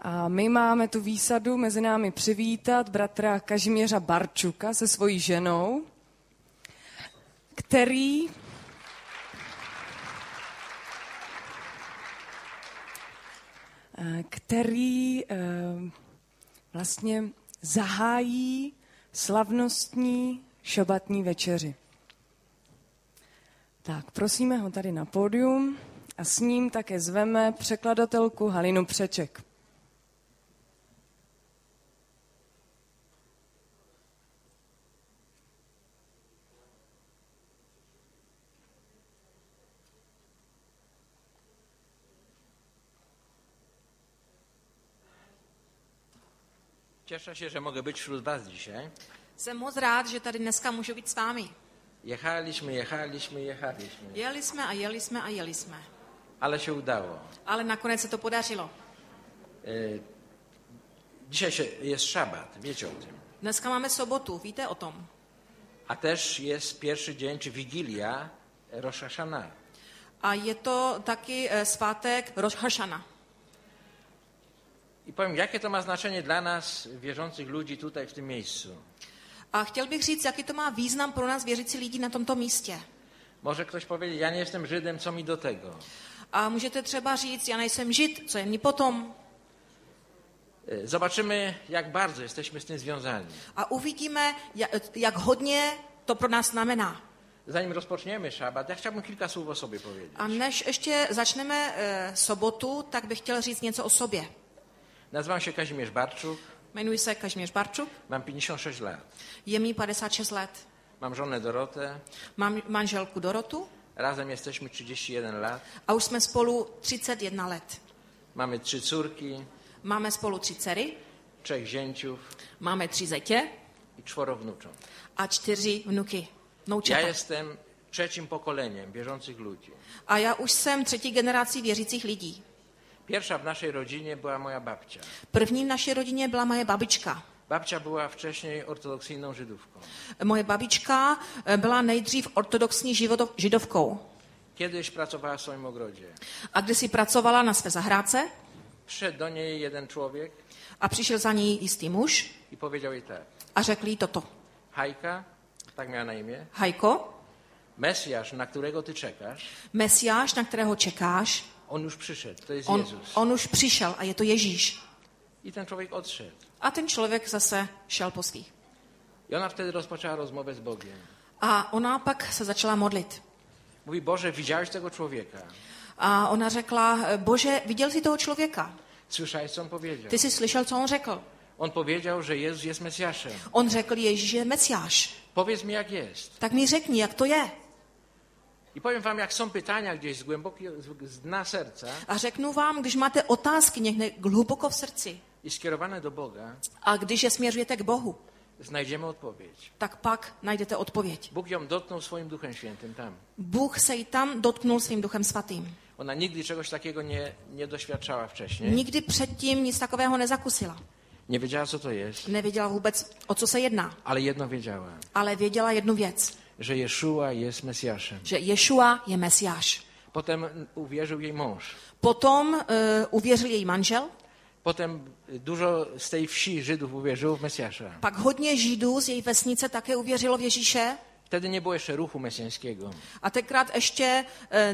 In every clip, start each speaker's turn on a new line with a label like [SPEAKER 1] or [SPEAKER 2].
[SPEAKER 1] A my máme tu výsadu mezi námi přivítat bratra Kažimíra Barčuka se svojí ženou, který vlastně zahájí slavnostní šabatní večeři. Tak, prosíme ho tady na pódium a s ním také zveme překladatelku Halinu Přeček.
[SPEAKER 2] Cieszę się, że mogę być wśród was dzisiaj.
[SPEAKER 3] Jsem moc rád, že tady dneska můžu být s vámi.
[SPEAKER 2] Jechaliśmy.
[SPEAKER 3] Jeli jsme a jeli jsme.
[SPEAKER 2] Ale się udało.
[SPEAKER 3] Ale nakonec se to podařilo.
[SPEAKER 2] Dzisiaj jest szabat, wiecie o tym.
[SPEAKER 3] Dneska máme sobotu, víte o tom.
[SPEAKER 2] A też jest pierwszy dzień, czy Wigilia Rosh Hashanah.
[SPEAKER 3] A je to taky svátek Rosh Hashanah.
[SPEAKER 2] I powiem, jakie to ma znaczenie dla nas, wierzących ludzi tutaj w tym miejscu.
[SPEAKER 3] A chtěl bych říct, jaký to má význam pro nás věřící lidi na tomto místě.
[SPEAKER 2] Może ktoś powiedzieć, ja nie jestem Żydem, co mi do tego?
[SPEAKER 3] A můžete třeba říct, já nejsem Žid, co je mi potom?
[SPEAKER 2] Zobaczymy, jak bardzo jesteśmy z tym związani.
[SPEAKER 3] A uvidíme, jak hodně to pro nás znamená.
[SPEAKER 2] Zanim rozpoczniemy szabat, ja chciałbym kilka słów o sobie powiedzieć.
[SPEAKER 3] A než ještě začneme sobotu, tak bych chtěl říct něco o sobě.
[SPEAKER 2] Nazywam się Kazimierz Barczuk.
[SPEAKER 3] Jmenuji se Kažimír Barčuk.
[SPEAKER 2] Mam 56 lat.
[SPEAKER 3] Je mi 56 let.
[SPEAKER 2] Mam żonę Dorotę.
[SPEAKER 3] Mám manželku Dorotu.
[SPEAKER 2] Razem jesteśmy 31 lat.
[SPEAKER 3] A už jsme spolu 31 let.
[SPEAKER 2] Mamy 3 córki.
[SPEAKER 3] Máme spolu 3 dcery.
[SPEAKER 2] 3 zięciów.
[SPEAKER 3] Máme 3 zetě.
[SPEAKER 2] I 4 wnucząt.
[SPEAKER 3] A 4 vnuky. Vnoučata.
[SPEAKER 2] Ja jestem trzecim pokoleniem wierzących ludzi.
[SPEAKER 3] A já už jsem 3. generací věřících lidí.
[SPEAKER 2] Pierwsza w naszej rodzinie była moja babcia.
[SPEAKER 3] První v naší rodině byla moje babička.
[SPEAKER 2] Babcia była wcześniej ortodoksyjną Żydówką.
[SPEAKER 3] Moje babička byla nejdřív ortodoxní židovkou.
[SPEAKER 2] Kiedyś pracowała w swoim ogrodzie.
[SPEAKER 3] A kdysi pracovala na své zahrádce.
[SPEAKER 2] Przyszedł do niej jeden człowiek.
[SPEAKER 3] A přišel za ní jistý muž.
[SPEAKER 2] I powiedział jej tak.
[SPEAKER 3] A řekl jí toto.
[SPEAKER 2] Hajka, tak miała na imię.
[SPEAKER 3] Hajko,
[SPEAKER 2] Mesjasz, na którego ty czekasz.
[SPEAKER 3] Mesiáš, na kterého čekáš.
[SPEAKER 2] On już przyszedł, to jest Jezus.
[SPEAKER 3] On už přišel a je to Ježíš.
[SPEAKER 2] I ten człowiek odszedł.
[SPEAKER 3] A ten člověk zase šel po svých.
[SPEAKER 2] I ona wtedy rozpoczęła rozmowę z Bogiem.
[SPEAKER 3] A ona pak se začala modlit.
[SPEAKER 2] Mówi, Boże, widziałeś tego człowieka?
[SPEAKER 3] A ona řekla, Bože, viděl jsi toho člověka?
[SPEAKER 2] Słyszałeś, co on powiedział?
[SPEAKER 3] Ty jsi slyšel, co on řekl?
[SPEAKER 2] On powiedział, że Jezus jest Mesjaszem.
[SPEAKER 3] On řekl, Ježíš je Mesiáš.
[SPEAKER 2] Powiedz mi, jak jest.
[SPEAKER 3] Tak mi řekni, jak to je.
[SPEAKER 2] I powiem wam, jak są pytania gdzieś z dna serca.
[SPEAKER 3] A řeknu vám, když máte otázky někde hluboko v srdci.
[SPEAKER 2] I skierowane do Boga.
[SPEAKER 3] A když je směřujete k Bohu.
[SPEAKER 2] Znajdziemy odpowiedź.
[SPEAKER 3] Tak pak najdete odpověď.
[SPEAKER 2] Bóg ją dotknął swoim Duchem Świętym tam.
[SPEAKER 3] Bůh se jí tam dotknul svým Duchem Svatým.
[SPEAKER 2] Ona nigdy czegoś takiego nie doświadczała wcześniej.
[SPEAKER 3] Nikdy předtím nic takového nezakusila.
[SPEAKER 2] Nie wiedziała, co to jest.
[SPEAKER 3] Nevěděla vůbec, o co se jedná.
[SPEAKER 2] Ale jedno wiedziała.
[SPEAKER 3] Ale věděla jednu věc.
[SPEAKER 2] Że Jeszua jest Mesjaszem.
[SPEAKER 3] Že Ješua je Mesiáš.
[SPEAKER 2] Potem uwierzył jej mąż.
[SPEAKER 3] Potom uvěřil její manžel.
[SPEAKER 2] Potem dużo z tej wsi Żydów uwierzyło w Mesjasza.
[SPEAKER 3] Pak hodně Židů z její vesnice také uvěřilo v Ježíše.
[SPEAKER 2] Wtedy nie było jeszcze ruchu mesjańskiego.
[SPEAKER 3] A tenkrát ještě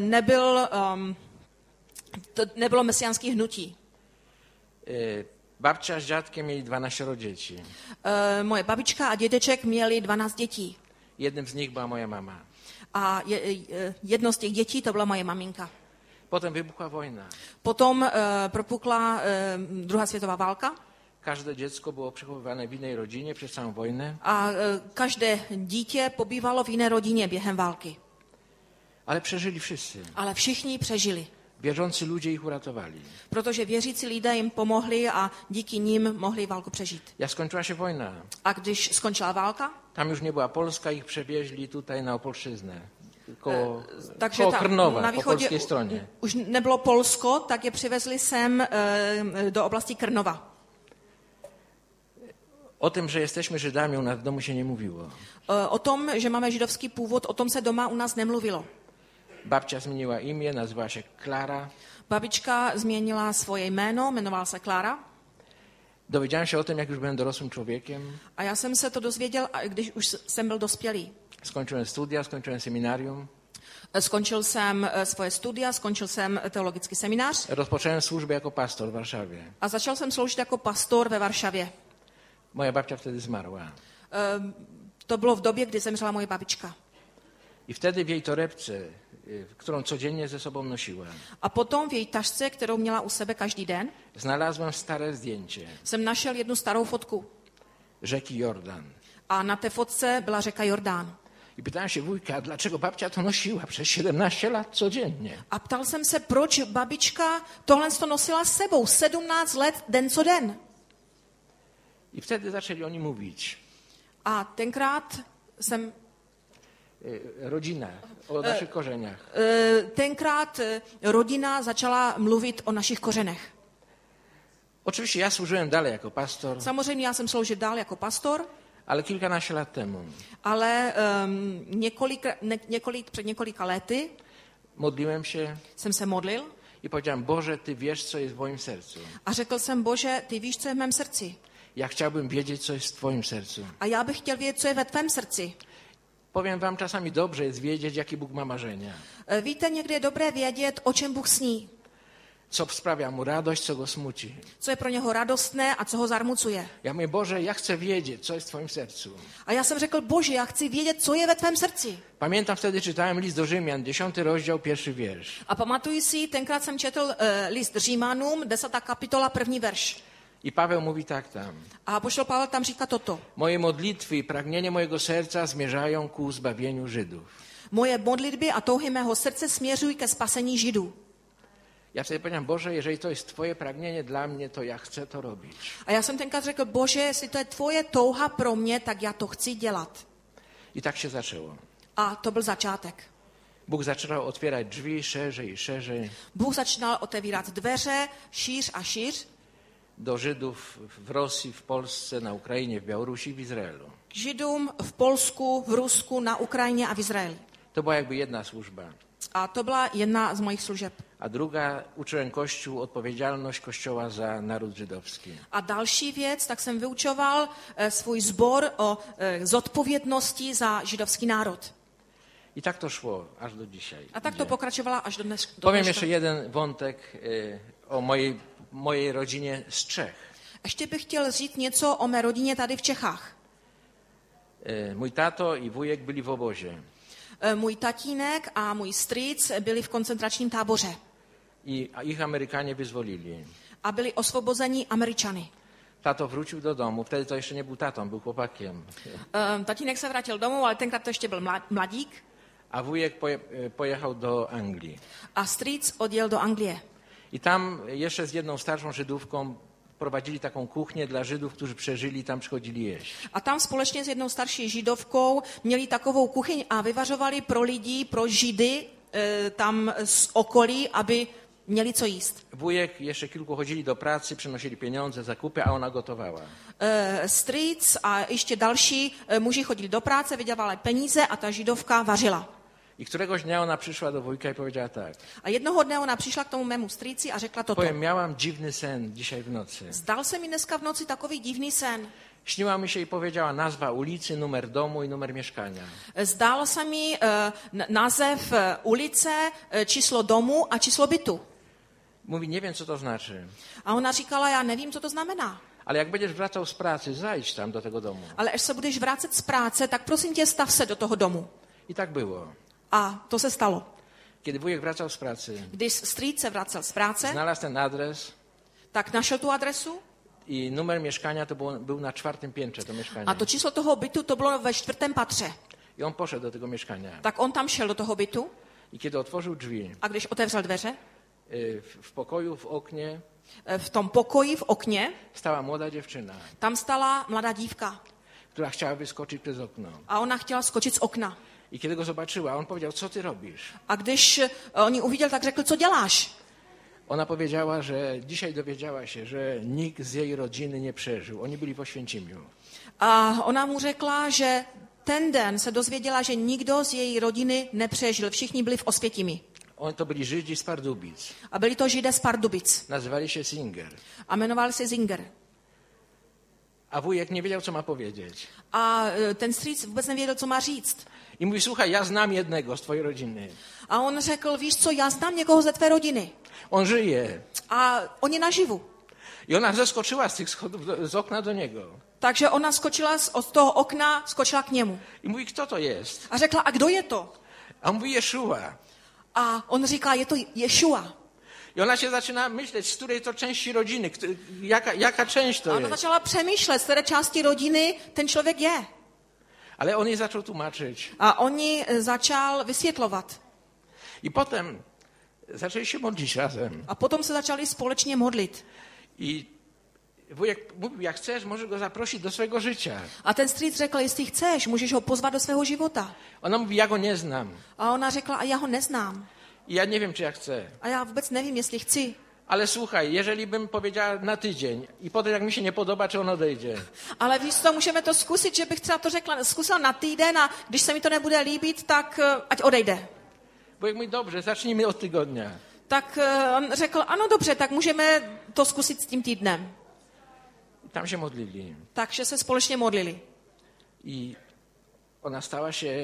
[SPEAKER 3] nebylo mesiánských hnutí.
[SPEAKER 2] Babcia z dziadkiem mieli 12 dzieci.
[SPEAKER 3] Moje babička a dědeček měli 12 dětí.
[SPEAKER 2] Jednym z nich była moja mama.
[SPEAKER 3] A jedno z těch dětí to byla moje maminka.
[SPEAKER 2] Potem wybuchła wojna.
[SPEAKER 3] Potom propukla druhá světová válka.
[SPEAKER 2] Każde dziecko było przechowywane w innej rodzinie przez całą wojnę.
[SPEAKER 3] A každé dítě pobývalo v jiné rodině během války.
[SPEAKER 2] Ale przeżyli wszyscy.
[SPEAKER 3] Ale všichni přežili.
[SPEAKER 2] Wierzący ludzie ich uratowali.
[SPEAKER 3] Protože věřící lidé jim pomohli a díky nim mohli válku přežít.
[SPEAKER 2] Jak skończyła się wojna.
[SPEAKER 3] A když skončila válka?
[SPEAKER 2] Tam już nie była Polska, ich przewieźli tutaj na Opolszczyznę. Koło
[SPEAKER 3] Takže
[SPEAKER 2] Krnova,
[SPEAKER 3] na
[SPEAKER 2] po
[SPEAKER 3] východě
[SPEAKER 2] polskiej stronie.
[SPEAKER 3] Už nebylo Polsko, tak je přivezli sem do oblasti Krnova.
[SPEAKER 2] O tym, że jesteśmy Żydami, u nas w domu się nie mówiło.
[SPEAKER 3] O tom, že máme židovský původ, o tom se doma u nás nemluvilo.
[SPEAKER 2] Babcia zmieniła imię, nazywała się Klara.
[SPEAKER 3] Babička změnila svoje jméno, jmenovala se Klára.
[SPEAKER 2] Dowiedziałem się o tym, jak już byłem dorosłym człowiekiem.
[SPEAKER 3] A já jsem se to dozvěděl, když už jsem byl dospělý.
[SPEAKER 2] Skończyłem studia, skończyłem seminarium.
[SPEAKER 3] Skončil jsem svoje studia, skončil jsem teologický seminář
[SPEAKER 2] Rozpocząłem służbę jako pastor w Warszawie.
[SPEAKER 3] a začal jsem sloužit jako pastor ve Varšavě.
[SPEAKER 2] Moja babcia wtedy zmarła.
[SPEAKER 3] To bylo v době, kdy zemřela moje babička.
[SPEAKER 2] I wtedy w jej torebce, którą codziennie ze sobą nosiłem,
[SPEAKER 3] A potom v její tašce, kterou měla u sebe každý den,
[SPEAKER 2] znalazłem stare zdjęcie
[SPEAKER 3] jsem našel jednu starou fotku.
[SPEAKER 2] rzeki Jordan.
[SPEAKER 3] A na té fotce byla řeka Jordán.
[SPEAKER 2] I pytałem się wujka, dlaczego babcia to nosiła przez 17 lat codziennie.
[SPEAKER 3] A ptal jsem se, proč babička tohle to nosila s sebou 17 let, den co den.
[SPEAKER 2] I wtedy zaczęli oni mówić.
[SPEAKER 3] A tenkrát jsem
[SPEAKER 2] Rodzina, o naszych korzeniach.
[SPEAKER 3] tenkrát rodina začala mluvit o našich kořenech.
[SPEAKER 2] Oczywiście ja służyłem dalej jako pastor,
[SPEAKER 3] Samozřejmě já jsem sloužil dál jako pastor,
[SPEAKER 2] ale kilkanaście lat temu
[SPEAKER 3] ale před několika lety
[SPEAKER 2] modliłem się
[SPEAKER 3] jsem se modlil
[SPEAKER 2] i powiedziałem, Boże, Ty wiesz, co jest w moim sercu.
[SPEAKER 3] a řekl jsem, Bože, ty víš, co je v mém srdci.
[SPEAKER 2] Ja chciałbym wiedzieć, co jest w Twoim sercu.
[SPEAKER 3] A já bych chtěl vědět, co je ve tvém srdci.
[SPEAKER 2] Powiem wam, czasami dobrze jest wiedzieć, jakie Bóg ma marzenia.
[SPEAKER 3] Víte, někdy je dobré vědět, o čem Bůh sní.
[SPEAKER 2] Co sprawia mu radość, co go smuci.
[SPEAKER 3] Co je pro něho radostné a co ho zarmucuje.
[SPEAKER 2] Ja mówię, Boże, ja chcę wiedzieć, co jest w Twoim sercu.
[SPEAKER 3] A já jsem řekl, Bože, já chci vědět, co je ve tvém srdci.
[SPEAKER 2] Pamiętam, wtedy czytałem list do Rzymian, 10 rozdział, 1 wiersz.
[SPEAKER 3] A pamatuju si, tenkrát jsem četl list Římanům, 10. kapitola, 1. verš.
[SPEAKER 2] I Paweł mówi tak tam.
[SPEAKER 3] A apoštol Pavel tam říká toto.
[SPEAKER 2] Moje modlitwy i pragnienie mojego serca zmierzają ku zbawieniu Żydów.
[SPEAKER 3] Moje modlitby a touhy mého srdce směřují ke spasení Židů.
[SPEAKER 2] Ja wtedy powiedziałem, Boże, jeżeli to jest Twoje pragnienie dla mnie, to ja chcę to robić.
[SPEAKER 3] A já jsem tenkrát řekl, Bože, jestli to je tvoje touha pro mě, tak já to chci dělat.
[SPEAKER 2] I tak się zaczęło.
[SPEAKER 3] A to byl začátek.
[SPEAKER 2] Bóg zaczął otwierać drzwi szerzej i szerzej
[SPEAKER 3] Bůh začínal otevírat dveře, šíř a šíř,
[SPEAKER 2] do Żydów w Rosji, w Polsce, na Ukrainie, w Białorusi, w Izraelu.
[SPEAKER 3] k Židům v Polsku, v Rusku, na Ukrajině a v Izraeli.
[SPEAKER 2] To była jakby jedna służba.
[SPEAKER 3] A to byla jedna z mojich služeb.
[SPEAKER 2] A druga, uczyłem Kościół odpowiedzialność Kościoła za naród żydowski.
[SPEAKER 3] A další věc, tak jsem vyučoval svůj sbor o zodpovědnosti za židovský národ.
[SPEAKER 2] I tak to szło aż do dzisiaj.
[SPEAKER 3] A tak to pokračovala až do dnes.
[SPEAKER 2] Powiem jeszcze jeden wątek o mojej rodzinie z Czech.
[SPEAKER 3] Ještě bych chtěl říct něco o mé rodině tady v Čechách.
[SPEAKER 2] Mój tato i wujek byli w obozie.
[SPEAKER 3] Můj tatínek a můj strýc byli v koncentračním táboře
[SPEAKER 2] I ich Amerykanie wyzwolili.
[SPEAKER 3] a byli osvobozeni Američany.
[SPEAKER 2] Tato wrócił do domu, wtedy to jeszcze nie był tatą, był chłopakiem.
[SPEAKER 3] Tatínek se vrátil domů, ale tenkrát to ještě byl mladík.
[SPEAKER 2] A wujek pojechał do Anglii.
[SPEAKER 3] A strýc odjel do Anglie.
[SPEAKER 2] I tam jeszcze z jedną starszą Żydówką prowadzili taką kuchnię dla Żydów, którzy przeżyli, tam przychodzili jeść.
[SPEAKER 3] A tam společně s jednou starší židovkou měli takovou kuchyň a vyvařovali pro lidi, pro Židy tam z okolí, aby měli co jíst.
[SPEAKER 2] Wujek, jeszcze kilku chodzili do pracy, przynosili pieniądze, zakupy, a ona gotowała.
[SPEAKER 3] Strýc a ještě další muži chodili do práce, vydělávali peníze a ta židovka vařila.
[SPEAKER 2] I któregoś dnia ona przyszła do wujka i powiedziała tak.
[SPEAKER 3] A jednoho dne ona přišla k tomu mému strýci a řekla toto.
[SPEAKER 2] Powiem, miałam dziwny sen dzisiaj w nocy.
[SPEAKER 3] Zdal se mi dneska v noci takový divný sen.
[SPEAKER 2] Śniła mi się i powiedziała nazwa ulicy, numer domu i numer mieszkania.
[SPEAKER 3] Zdál se mi název ulice, číslo domu a číslo bytu.
[SPEAKER 2] Mówi, nie wiem, co to znaczy.
[SPEAKER 3] A ona říkala, já nevím, co to znamená.
[SPEAKER 2] Ale jak będziesz wracał z pracy, zajdź tam do tego domu.
[SPEAKER 3] Ale až se budeš vrátit z práce, tak prosím tě, stav se do toho domu.
[SPEAKER 2] I tak było.
[SPEAKER 3] A to se stalo.
[SPEAKER 2] Kiedy wujek wracał z pracy,
[SPEAKER 3] Když strýc se vracel z práce,
[SPEAKER 2] znalazł ten adres
[SPEAKER 3] tak našel tu adresu
[SPEAKER 2] i numer mieszkania to był na 4. piętrze to mieszkanie.
[SPEAKER 3] a to číslo toho bytu to bylo ve 4. patře.
[SPEAKER 2] I on poszedł do tego mieszkania.
[SPEAKER 3] Tak on tam šel do toho bytu
[SPEAKER 2] I kiedy otworzył drzwi,
[SPEAKER 3] a když otevřel dveře,
[SPEAKER 2] w pokoju, w oknie
[SPEAKER 3] v tom pokoji, v okně,
[SPEAKER 2] stała młoda dziewczyna,
[SPEAKER 3] tam stala mladá dívka
[SPEAKER 2] która chciała wyskoczyć przez okno.
[SPEAKER 3] a ona chtěla skočit z okna.
[SPEAKER 2] I kiedy go zobaczyła, on powiedział, co ty robisz?
[SPEAKER 3] A když on ji uviděl, tak řekl, co děláš?
[SPEAKER 2] Ona powiedziała, że dzisiaj dowiedziała się, że nikt z jej rodziny nie przeżył. Oni byli w Oświęcimiu.
[SPEAKER 3] A ona mu řekla, že ten den se dozvěděla, že nikdo z její rodiny nepřežil. Všichni byli v Osvětimi.
[SPEAKER 2] Oni to byli Żydzi z Pardubic.
[SPEAKER 3] A byli to Židé z Pardubic.
[SPEAKER 2] Nazywali się Singer.
[SPEAKER 3] A jmenovali se Zinger.
[SPEAKER 2] A wujek nie wiedział, co ma powiedzieć.
[SPEAKER 3] A ten strýc vůbec nevěděl, co má říct.
[SPEAKER 2] I mówi, słuchaj, ja znam jednego z twojej rodziny.
[SPEAKER 3] A on řekl, víš co, já znám někoho ze tvé rodiny.
[SPEAKER 2] On żyje.
[SPEAKER 3] A on je naživu.
[SPEAKER 2] I ona zeskoczyła z tych schodów, z okna do niego.
[SPEAKER 3] Takže ona skočila od toho okna, skočila k němu.
[SPEAKER 2] I mówi, kto to jest?
[SPEAKER 3] A řekla, a kdo je to?
[SPEAKER 2] A on mówi, Jeszua.
[SPEAKER 3] A on říká, je to Ješua.
[SPEAKER 2] I ona się zaczyna myśleć, z której to części rodziny, jaka część to
[SPEAKER 3] A ona
[SPEAKER 2] jest.
[SPEAKER 3] začala přemýšlet, z které části rodiny ten člověk je.
[SPEAKER 2] Ale on jej zaczął tłumaczyć.
[SPEAKER 3] A on ji začal vysvětlovat.
[SPEAKER 2] I potem zaczęli się modlić razem.
[SPEAKER 3] A potom se začali společně modlit.
[SPEAKER 2] I wujek mówił, jak chcesz, możesz go zaprosić do swojego życia.
[SPEAKER 3] A ten strýc řekl, jestli chceš, můžeš ho pozvat do svého života.
[SPEAKER 2] Ona mówi, ja go nie znam.
[SPEAKER 3] A ona řekla, a já ho neznám.
[SPEAKER 2] I ja nie wiem, czy ja chcę.
[SPEAKER 3] A já vůbec nevím, jestli chci.
[SPEAKER 2] Ale słuchaj, jeżeli bym powiedziała na tydzień i potem jak mi się nie podoba, czy on odejdzie.
[SPEAKER 3] Ale víš co, můžeme to zkusit, že bych třeba to zkusila na týden a když se mi to nebude líbit, tak ať odejde.
[SPEAKER 2] Wujek mówi, dobrze, zacznijmy od tygodnia.
[SPEAKER 3] Tak on řekl, ano dobře, tak můžeme to zkusit s tím týdnem.
[SPEAKER 2] I tam się modlili.
[SPEAKER 3] Takže se společně modlili.
[SPEAKER 2] I ona stała się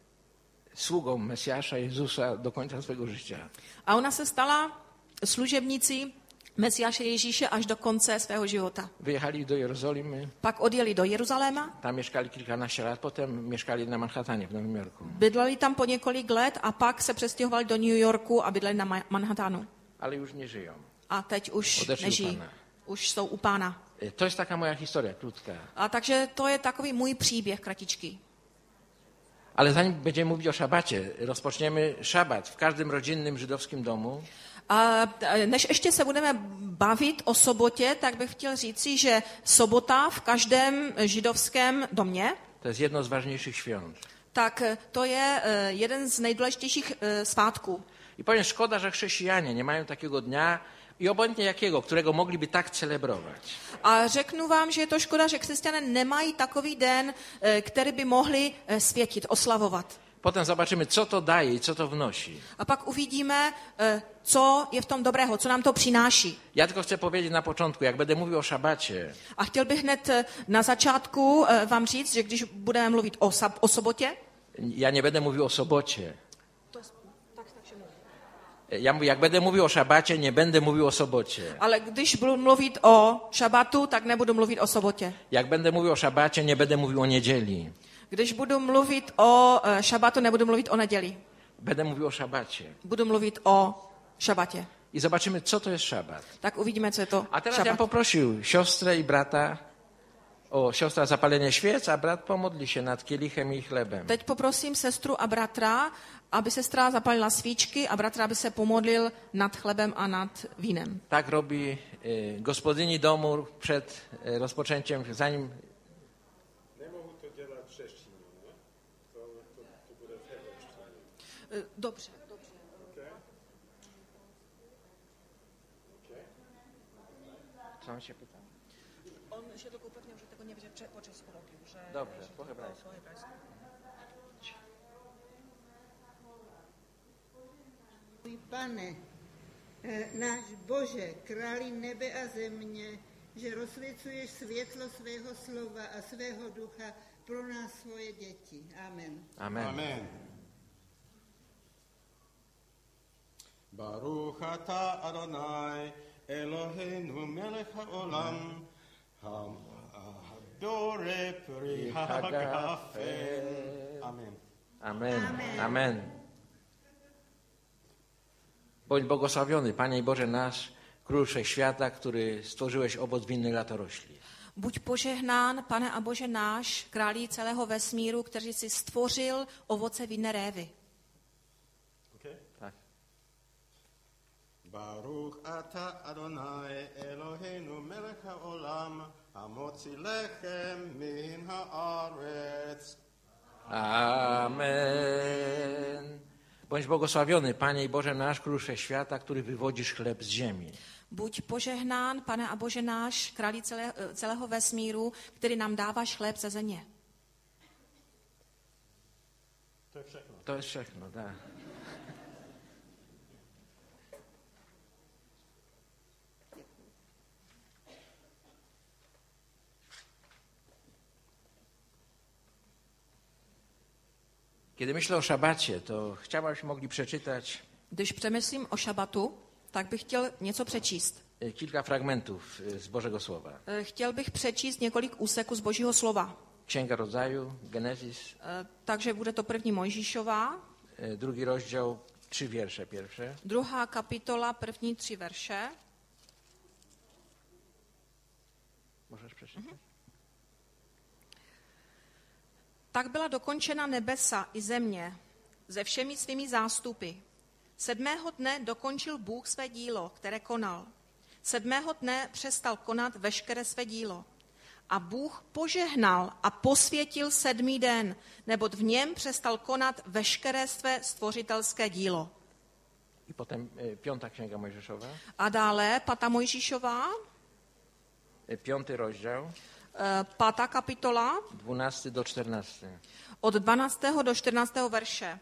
[SPEAKER 2] sługą Mesjasza Jezusa do końca swojego życia.
[SPEAKER 3] A ona se stala služebnicí Mesiáše Ježíše až do konce svého života.
[SPEAKER 2] Wyjechali do Jerozolimy,
[SPEAKER 3] Pak odjeli do Jeruzaléma,
[SPEAKER 2] tam mieszkali kilkanaście lat, potem mieszkali na Manhattanie w Nowym Jorku.
[SPEAKER 3] bydleli tam po několik let a pak se přestěhovali do New Yorku a bydleli na Manhattanu.
[SPEAKER 2] Ale już nie żyją.
[SPEAKER 3] A teď už
[SPEAKER 2] Odešli u
[SPEAKER 3] nežijí.
[SPEAKER 2] Pána.
[SPEAKER 3] Už jsou u Pána.
[SPEAKER 2] To jest taka moja historia, krótka.
[SPEAKER 3] A takže to je takový můj příběh kratičký.
[SPEAKER 2] Ale zanim będziemy mówić o szabacie, rozpoczniemy szabat w każdym rodzinnym żydowskim domu.
[SPEAKER 3] A než ještě se budeme bavit o sobotě, tak bych chtěl říci, že sobota v každém židovském domě,
[SPEAKER 2] To jest jedno z ważniejszych świąt.
[SPEAKER 3] tak to je jeden z nejdůležitějších svátků.
[SPEAKER 2] I powiem, szkoda, że chrześcijanie nie mają takiego dnia i obojętnie jakiego, którego mogliby tak celebrować.
[SPEAKER 3] A řeknu vám, že je to škoda, že křesťané nemají takový den, který by mohli světit, oslavovat.
[SPEAKER 2] Potem zobaczymy, co to daje i co to wnosi.
[SPEAKER 3] A pak uvidíme, co je v tom dobrého, co nám to přináší.
[SPEAKER 2] Ja tylko chcę powiedzieć na początku, jak będę mówił o szabacie,
[SPEAKER 3] A chtěl bych hned na začátku vám říct, že když budeme mluvit o sobotě,
[SPEAKER 2] ja nie będę mówił o sobocie. Ja mówię, jak będę mówił o szabacie, nie będę mówił o sobocie.
[SPEAKER 3] ale když budu mluvit o šabatu, tak nebudu mluvit o sobotě.
[SPEAKER 2] Jak będę mówił o szabacie, nie będę mówił o niedzieli.
[SPEAKER 3] Když budu mluvit o šabatu, nebudu mluvit o neděli.
[SPEAKER 2] Będę mówił o szabacie.
[SPEAKER 3] Budu mluvit o šabatě.
[SPEAKER 2] I zobaczymy, co to jest szabat.
[SPEAKER 3] Tak uvidíme, co je to
[SPEAKER 2] A teraz ja bym
[SPEAKER 3] šabat.
[SPEAKER 2] poprosił siostrę i brata o siostra zapalenie świec, a brat pomodli się nad kielichem i chlebem.
[SPEAKER 3] Teď poprosím sestru a bratra, aby sestra zapalila svíčky a bratra, aby se pomodlil nad chlebem a nad vínem.
[SPEAKER 2] Tak robi gospodyni domu przed rozpoczęciem, zanim...
[SPEAKER 4] Nie mohu to dělat v češtině, ne? To bude v hebrejštině.
[SPEAKER 3] Dobře.
[SPEAKER 2] Co on się pyta?
[SPEAKER 3] On się tylko upewniał, że tego nie będzie po czesku robił. Że
[SPEAKER 2] Dobrze, po hebrajsku.
[SPEAKER 5] Můj Pane, náš Bože, králi nebe a země, že rozsvěcuješ světlo svého slova a svého ducha pro nás svoje děti. Amen.
[SPEAKER 2] Amen.
[SPEAKER 4] Amen. Baruch ata Adonai, Eloheinu melech haolam, Dore pri hagafe. Amen.
[SPEAKER 2] Amen. Amen. Bądź błogosławiony, Panie i Boże nasz, Król Wszechświata, który stworzyłeś owoc winny latorośli.
[SPEAKER 3] Buď požehnán, Pane a Bože náš, králi celého vesmíru, který si stvořil ovoce vinné révy.
[SPEAKER 4] Okay.
[SPEAKER 2] Tak.
[SPEAKER 4] Baruch ata Adonai, Eloheinu melech haolam, hamotzi lechem min haaretz.
[SPEAKER 2] Amen. Bądź błogosławiony, Panie i Boże nasz, Król Wszechświata, który wywodzisz chleb z ziemi.
[SPEAKER 3] Buď požehnán, Pane a Bože náš, králi celého vesmíru, který nám dáváš chléb ze země.
[SPEAKER 4] To je všechno.
[SPEAKER 2] To jest všechno, tak. Kiedy myślę o szabacie, to chciałbym, abyśmy mogli przeczytać
[SPEAKER 3] Když přemýšlím o šabatu, tak bych chtěl něco přečíst.
[SPEAKER 2] kilka fragmentów z Bożego Słowa.
[SPEAKER 3] Chtěl bych přečíst několik úseků z Božího slova.
[SPEAKER 2] Księga Rodzaju, Genezis,
[SPEAKER 3] Takže bude to první Mojžíšová,
[SPEAKER 2] drugi rozdział, 3 wiersze pierwsze.
[SPEAKER 3] 2. kapitola, první 3 verše.
[SPEAKER 2] Możesz przeczytać?
[SPEAKER 3] Tak byla dokončena nebesa i země se všemi svými zástupy. 7. dne dokončil Bůh své dílo, které konal. 7. dne přestal konat veškeré své dílo. A Bůh požehnal a posvětil 7. den, neboť v něm přestal konat veškeré své stvořitelské dílo.
[SPEAKER 2] I potem 5. Księga Mojżeszowa,
[SPEAKER 3] A dále 5. Mojžíšová,
[SPEAKER 2] 5. rozdział,
[SPEAKER 3] 5. kapitola,
[SPEAKER 2] 12 do 14.
[SPEAKER 3] od 12. do 14. verše.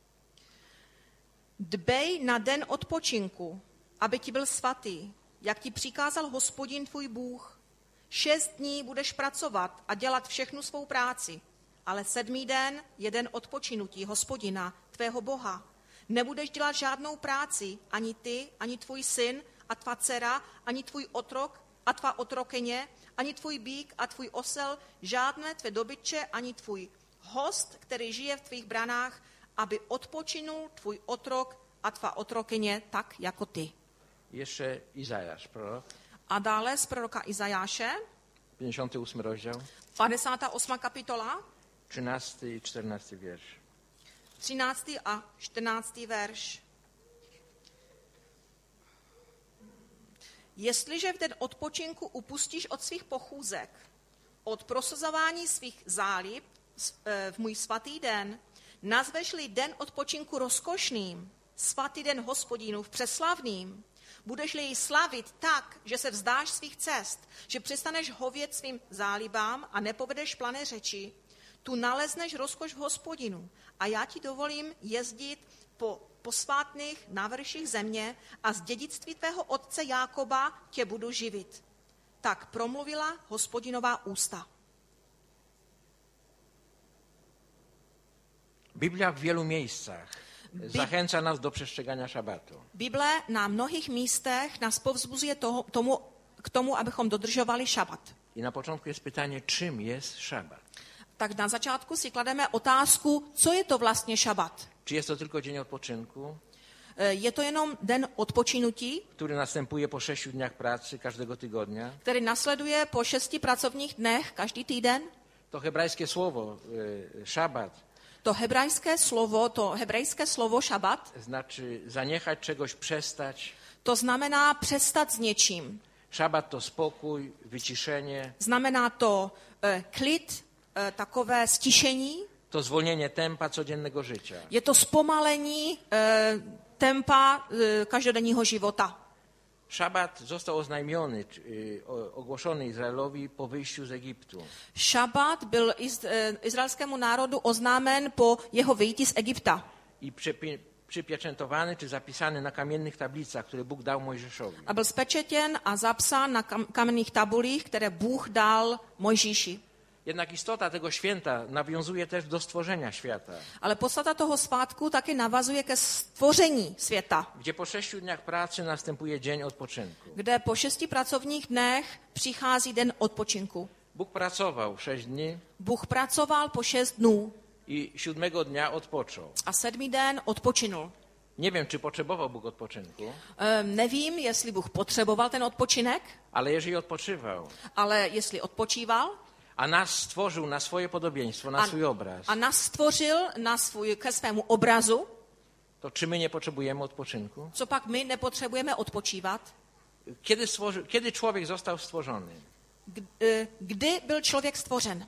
[SPEAKER 3] Dbej na den odpočinku, aby ti byl svatý, jak ti přikázal Hospodin tvůj Bůh. 6 dní budeš pracovat a dělat všechnu svou práci, ale 7. den je den odpočinutí Hospodina, tvého Boha. Nebudeš dělat žádnou práci, ani ty, ani tvůj syn a tvá dcera, ani tvůj otrok a tvá otrokyně, ani tvůj býk a tvůj osel, žádné tvé dobytče, ani tvůj host, který žije v tvých branách, aby odpočinul tvůj otrok a tvá otrokyně tak, jako ty.
[SPEAKER 2] Jeszcze Izajasz, prorok,
[SPEAKER 3] A dále z proroka Izajáše,
[SPEAKER 2] 58 rozdział,
[SPEAKER 3] 58. kapitola,
[SPEAKER 2] 13 i 14 wiersz.
[SPEAKER 3] 13. a 14. verš. Jestliže v den odpočinku upustíš od svých pochůzek, od prosazování svých zálib v můj svatý den, nazveš-li den odpočinku rozkošným, svatý den Hospodinův přeslavným, budeš-li jej slavit tak, že se vzdáš svých cest, že přestaneš hovět svým zálibám a nepovedeš plané řeči, tu nalezneš rozkoš v Hospodinu a já ti dovolím jezdit po posvátných návrších země a z dědictví tvého otce Jákoba tě budu živit. Tak promluvila Hospodinová ústa.
[SPEAKER 2] Biblia w wielu miejscach zachęca nas do przestrzegania szabatu.
[SPEAKER 3] Bible na mnohých místech nás povzbuzuje k tomu, abychom dodržovali šabat.
[SPEAKER 2] I na początku jest pytanie, czym jest szabat?
[SPEAKER 3] Tak na začátku si klademe otázku, co je to vlastně šabat.
[SPEAKER 2] Czy jest to tylko dzień odpoczynku,
[SPEAKER 3] Je to jenom den odpočinutí,
[SPEAKER 2] który następuje po 6 dniach pracy każdego tygodnia?
[SPEAKER 3] který nasleduje po 6 pracovních dnech každý týden?
[SPEAKER 2] To hebrajskie słowo szabat
[SPEAKER 3] To hebrejské slovo šabat,
[SPEAKER 2] znaczy zaniechać czegoś, przestać.
[SPEAKER 3] to znamená přestat s něčím.
[SPEAKER 2] Szabat to spokój, wyciszenie,
[SPEAKER 3] Znamená to klid, takové stišení.
[SPEAKER 2] to zwolnienie tempa codziennego życia.
[SPEAKER 3] Je to zpomalení tempa každodenního života.
[SPEAKER 2] Szabat został oznajmiony, ogłoszony Izraelowi po wyjściu z Egiptu.
[SPEAKER 3] Šabat byl izraelskému národu oznámen po jeho vyjití z Egypta.
[SPEAKER 2] I przypieczętowany czy zapisany na kamiennych tablicach, które Bóg dał Mojżeszowi.
[SPEAKER 3] A byl spečetěn a zapsán na kamenných tabulích, které Bůh dal Mojžíši.
[SPEAKER 2] Jednak istota tego święta nawiązuje też do stworzenia świata,
[SPEAKER 3] Ale podstata toho svátku taky navazuje ke stvoření světa,
[SPEAKER 2] gdzie po 6 dniach pracy następuje dzień odpoczynku.
[SPEAKER 3] kde po 6 pracovních dnech přichází den odpočinku.
[SPEAKER 2] Bóg pracował 6 dni
[SPEAKER 3] Bůh pracoval po 6 dnů
[SPEAKER 2] i 7 dnia odpoczął.
[SPEAKER 3] a 7. den odpočinul.
[SPEAKER 2] Nie wiem, czy potrzebował Bóg odpoczynku,
[SPEAKER 3] Nevím, jestli Bůh potřeboval ten odpočinek,
[SPEAKER 2] ale jeżeli odpoczywał,
[SPEAKER 3] ale jestli odpočíval
[SPEAKER 2] a nas stworzył na swoje podobieństwo, na swój obraz,
[SPEAKER 3] a nás stvořil ke svému obrazu,
[SPEAKER 2] to czy my nie potrzebujemy odpoczynku?
[SPEAKER 3] co pak my nepotřebujeme odpočívat?
[SPEAKER 2] Kiedy człowiek został stworzony?
[SPEAKER 3] Kdy byl člověk stvořen?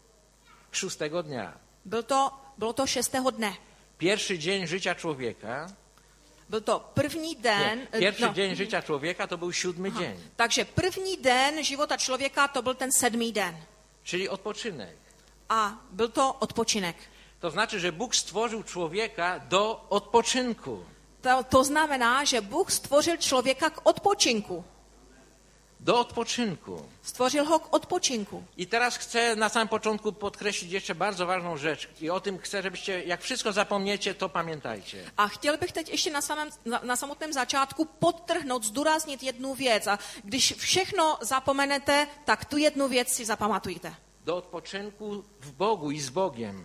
[SPEAKER 2] 6 dnia.
[SPEAKER 3] Bylo to 6. dne.
[SPEAKER 2] Pierwszy dzień życia człowieka,
[SPEAKER 3] Byl to první den.
[SPEAKER 2] pierwszy dzień życia człowieka to był 7 dzień,
[SPEAKER 3] Takže první den života člověka to byl ten 7. den.
[SPEAKER 2] czyli odpoczynek.
[SPEAKER 3] A byl to odpočinek.
[SPEAKER 2] To znaczy, że Bóg stworzył człowieka do odpoczynku.
[SPEAKER 3] To znamená, že Bůh stvořil člověka k odpočinku.
[SPEAKER 2] do odpoczynku.
[SPEAKER 3] Stvořil ho k odpočinku.
[SPEAKER 2] I teraz chcę na samym początku podkreślić jeszcze bardzo ważną rzecz. I o tym chcę, żebyście, jak wszystko zapomniecie, to pamiętajcie.
[SPEAKER 3] A chtěl bych teď ještě na samotném začátku podtrhnout, zdůraznit jednu věc. A když všechno zapomenete, tak tu jednu věc si zapamatujte.
[SPEAKER 2] Do odpoczynku w Bogu i z Bogiem.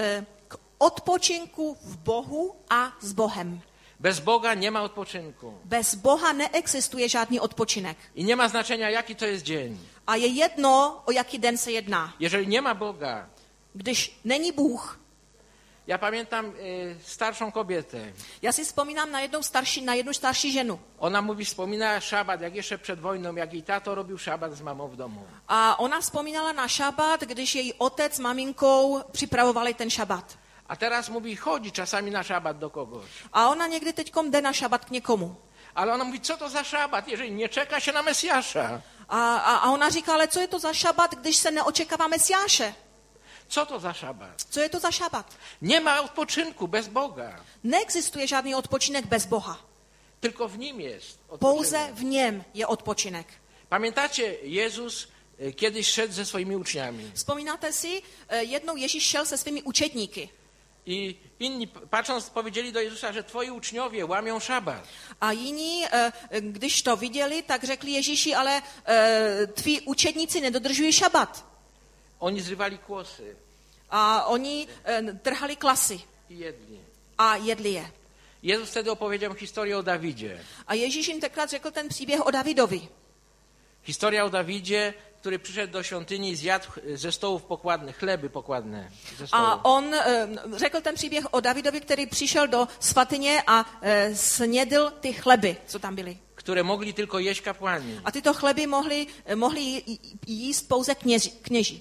[SPEAKER 3] K odpočinku v Bohu a s Bohem.
[SPEAKER 2] Bez Boga nie ma odpoczynku.
[SPEAKER 3] Bez Boha neexistuje žádný odpočinek.
[SPEAKER 2] I nie ma znaczenia, jaki to jest dzień.
[SPEAKER 3] A je jedno, o jaký den se jedná.
[SPEAKER 2] Jeżeli nie ma Boga.
[SPEAKER 3] Když není Bůh.
[SPEAKER 2] Ja pamiętam starszą kobietę.
[SPEAKER 3] Já si vzpomínám na jednu starší ženu.
[SPEAKER 2] Ona wspominała szabat, jak jeszcze przed wojną, jak jej tato robił szabat z mamą w domu.
[SPEAKER 3] A ona vzpomínala na šabat, když její otec s maminkou připravovali ten šabat.
[SPEAKER 2] A teraz mówi, chodzi czasami na szabat do kogoś.
[SPEAKER 3] A ona někdy teďkom jde na šabat k někomu.
[SPEAKER 2] Ale ona mówi, co to za szabat, jeżeli nie czeka się na Mesjasza?
[SPEAKER 3] A ona říká, ale co je to za šabat, když se neočekává Mesiáše?
[SPEAKER 2] Co to za szabat?
[SPEAKER 3] Co je to za šabat?
[SPEAKER 2] Nie ma odpoczynku bez Boga.
[SPEAKER 3] Neexistuje žádný odpočinek bez Boha.
[SPEAKER 2] Tylko w Nim jest odpoczynek.
[SPEAKER 3] Pouze v něm je odpočinek.
[SPEAKER 2] Pamiętacie, Jezus kiedyś szedł ze swoimi uczniami.
[SPEAKER 3] Vzpomínáte si, jednou Ježíš šel se svými učedníky.
[SPEAKER 2] I inni patrząc powiedzieli do Jezusa, że twoi uczniowie łamią szabat.
[SPEAKER 3] A jiní, když to viděli, tak řekli Ježíši, ale tví učedníci nedodržují šabat.
[SPEAKER 2] Oni zrywali kłosy.
[SPEAKER 3] A oni trhali klasy.
[SPEAKER 2] I jedli.
[SPEAKER 3] A jedli je.
[SPEAKER 2] Jezus wtedy opowiedział historię o Dawidzie.
[SPEAKER 3] A Ježíš jim tenkrát řekl ten příběh o Davidovi.
[SPEAKER 2] Historia o Dawidzie, który przyszedł do świątyni i zjadł ze stołów pokładnych, chleby pokładne ze stołu.
[SPEAKER 3] A on řekl ten příběh o Davidovi, který přišel do svatyně a snědl ty chleby, co tam byly.
[SPEAKER 2] Które mogli tylko jeść kapłani.
[SPEAKER 3] A tyto chleby mohli jíst pouze kněži.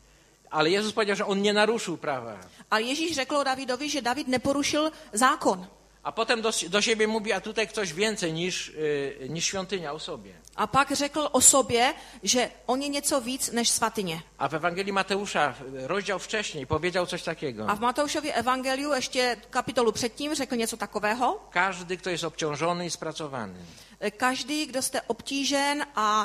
[SPEAKER 2] Ale Jezus powiedział, że on nie naruszył prawa.
[SPEAKER 3] A Ježíš řekl o Davidovi, že David neporušil zákon.
[SPEAKER 2] A potem do siebie mówi, a tutaj ktoś więcej niż świątynia o sobie.
[SPEAKER 3] A pak řekl o sobě, že on je něco víc než svatyně.
[SPEAKER 2] A w Ewangelii Mateusza, rozdział wcześniej, powiedział coś takiego.
[SPEAKER 3] A v Matoušově evangeliu ještě kapitolu předtím řekl něco takového.
[SPEAKER 2] Każdy, kto jest obciążony i spracowany.
[SPEAKER 3] Každý, kdo jste obtížen a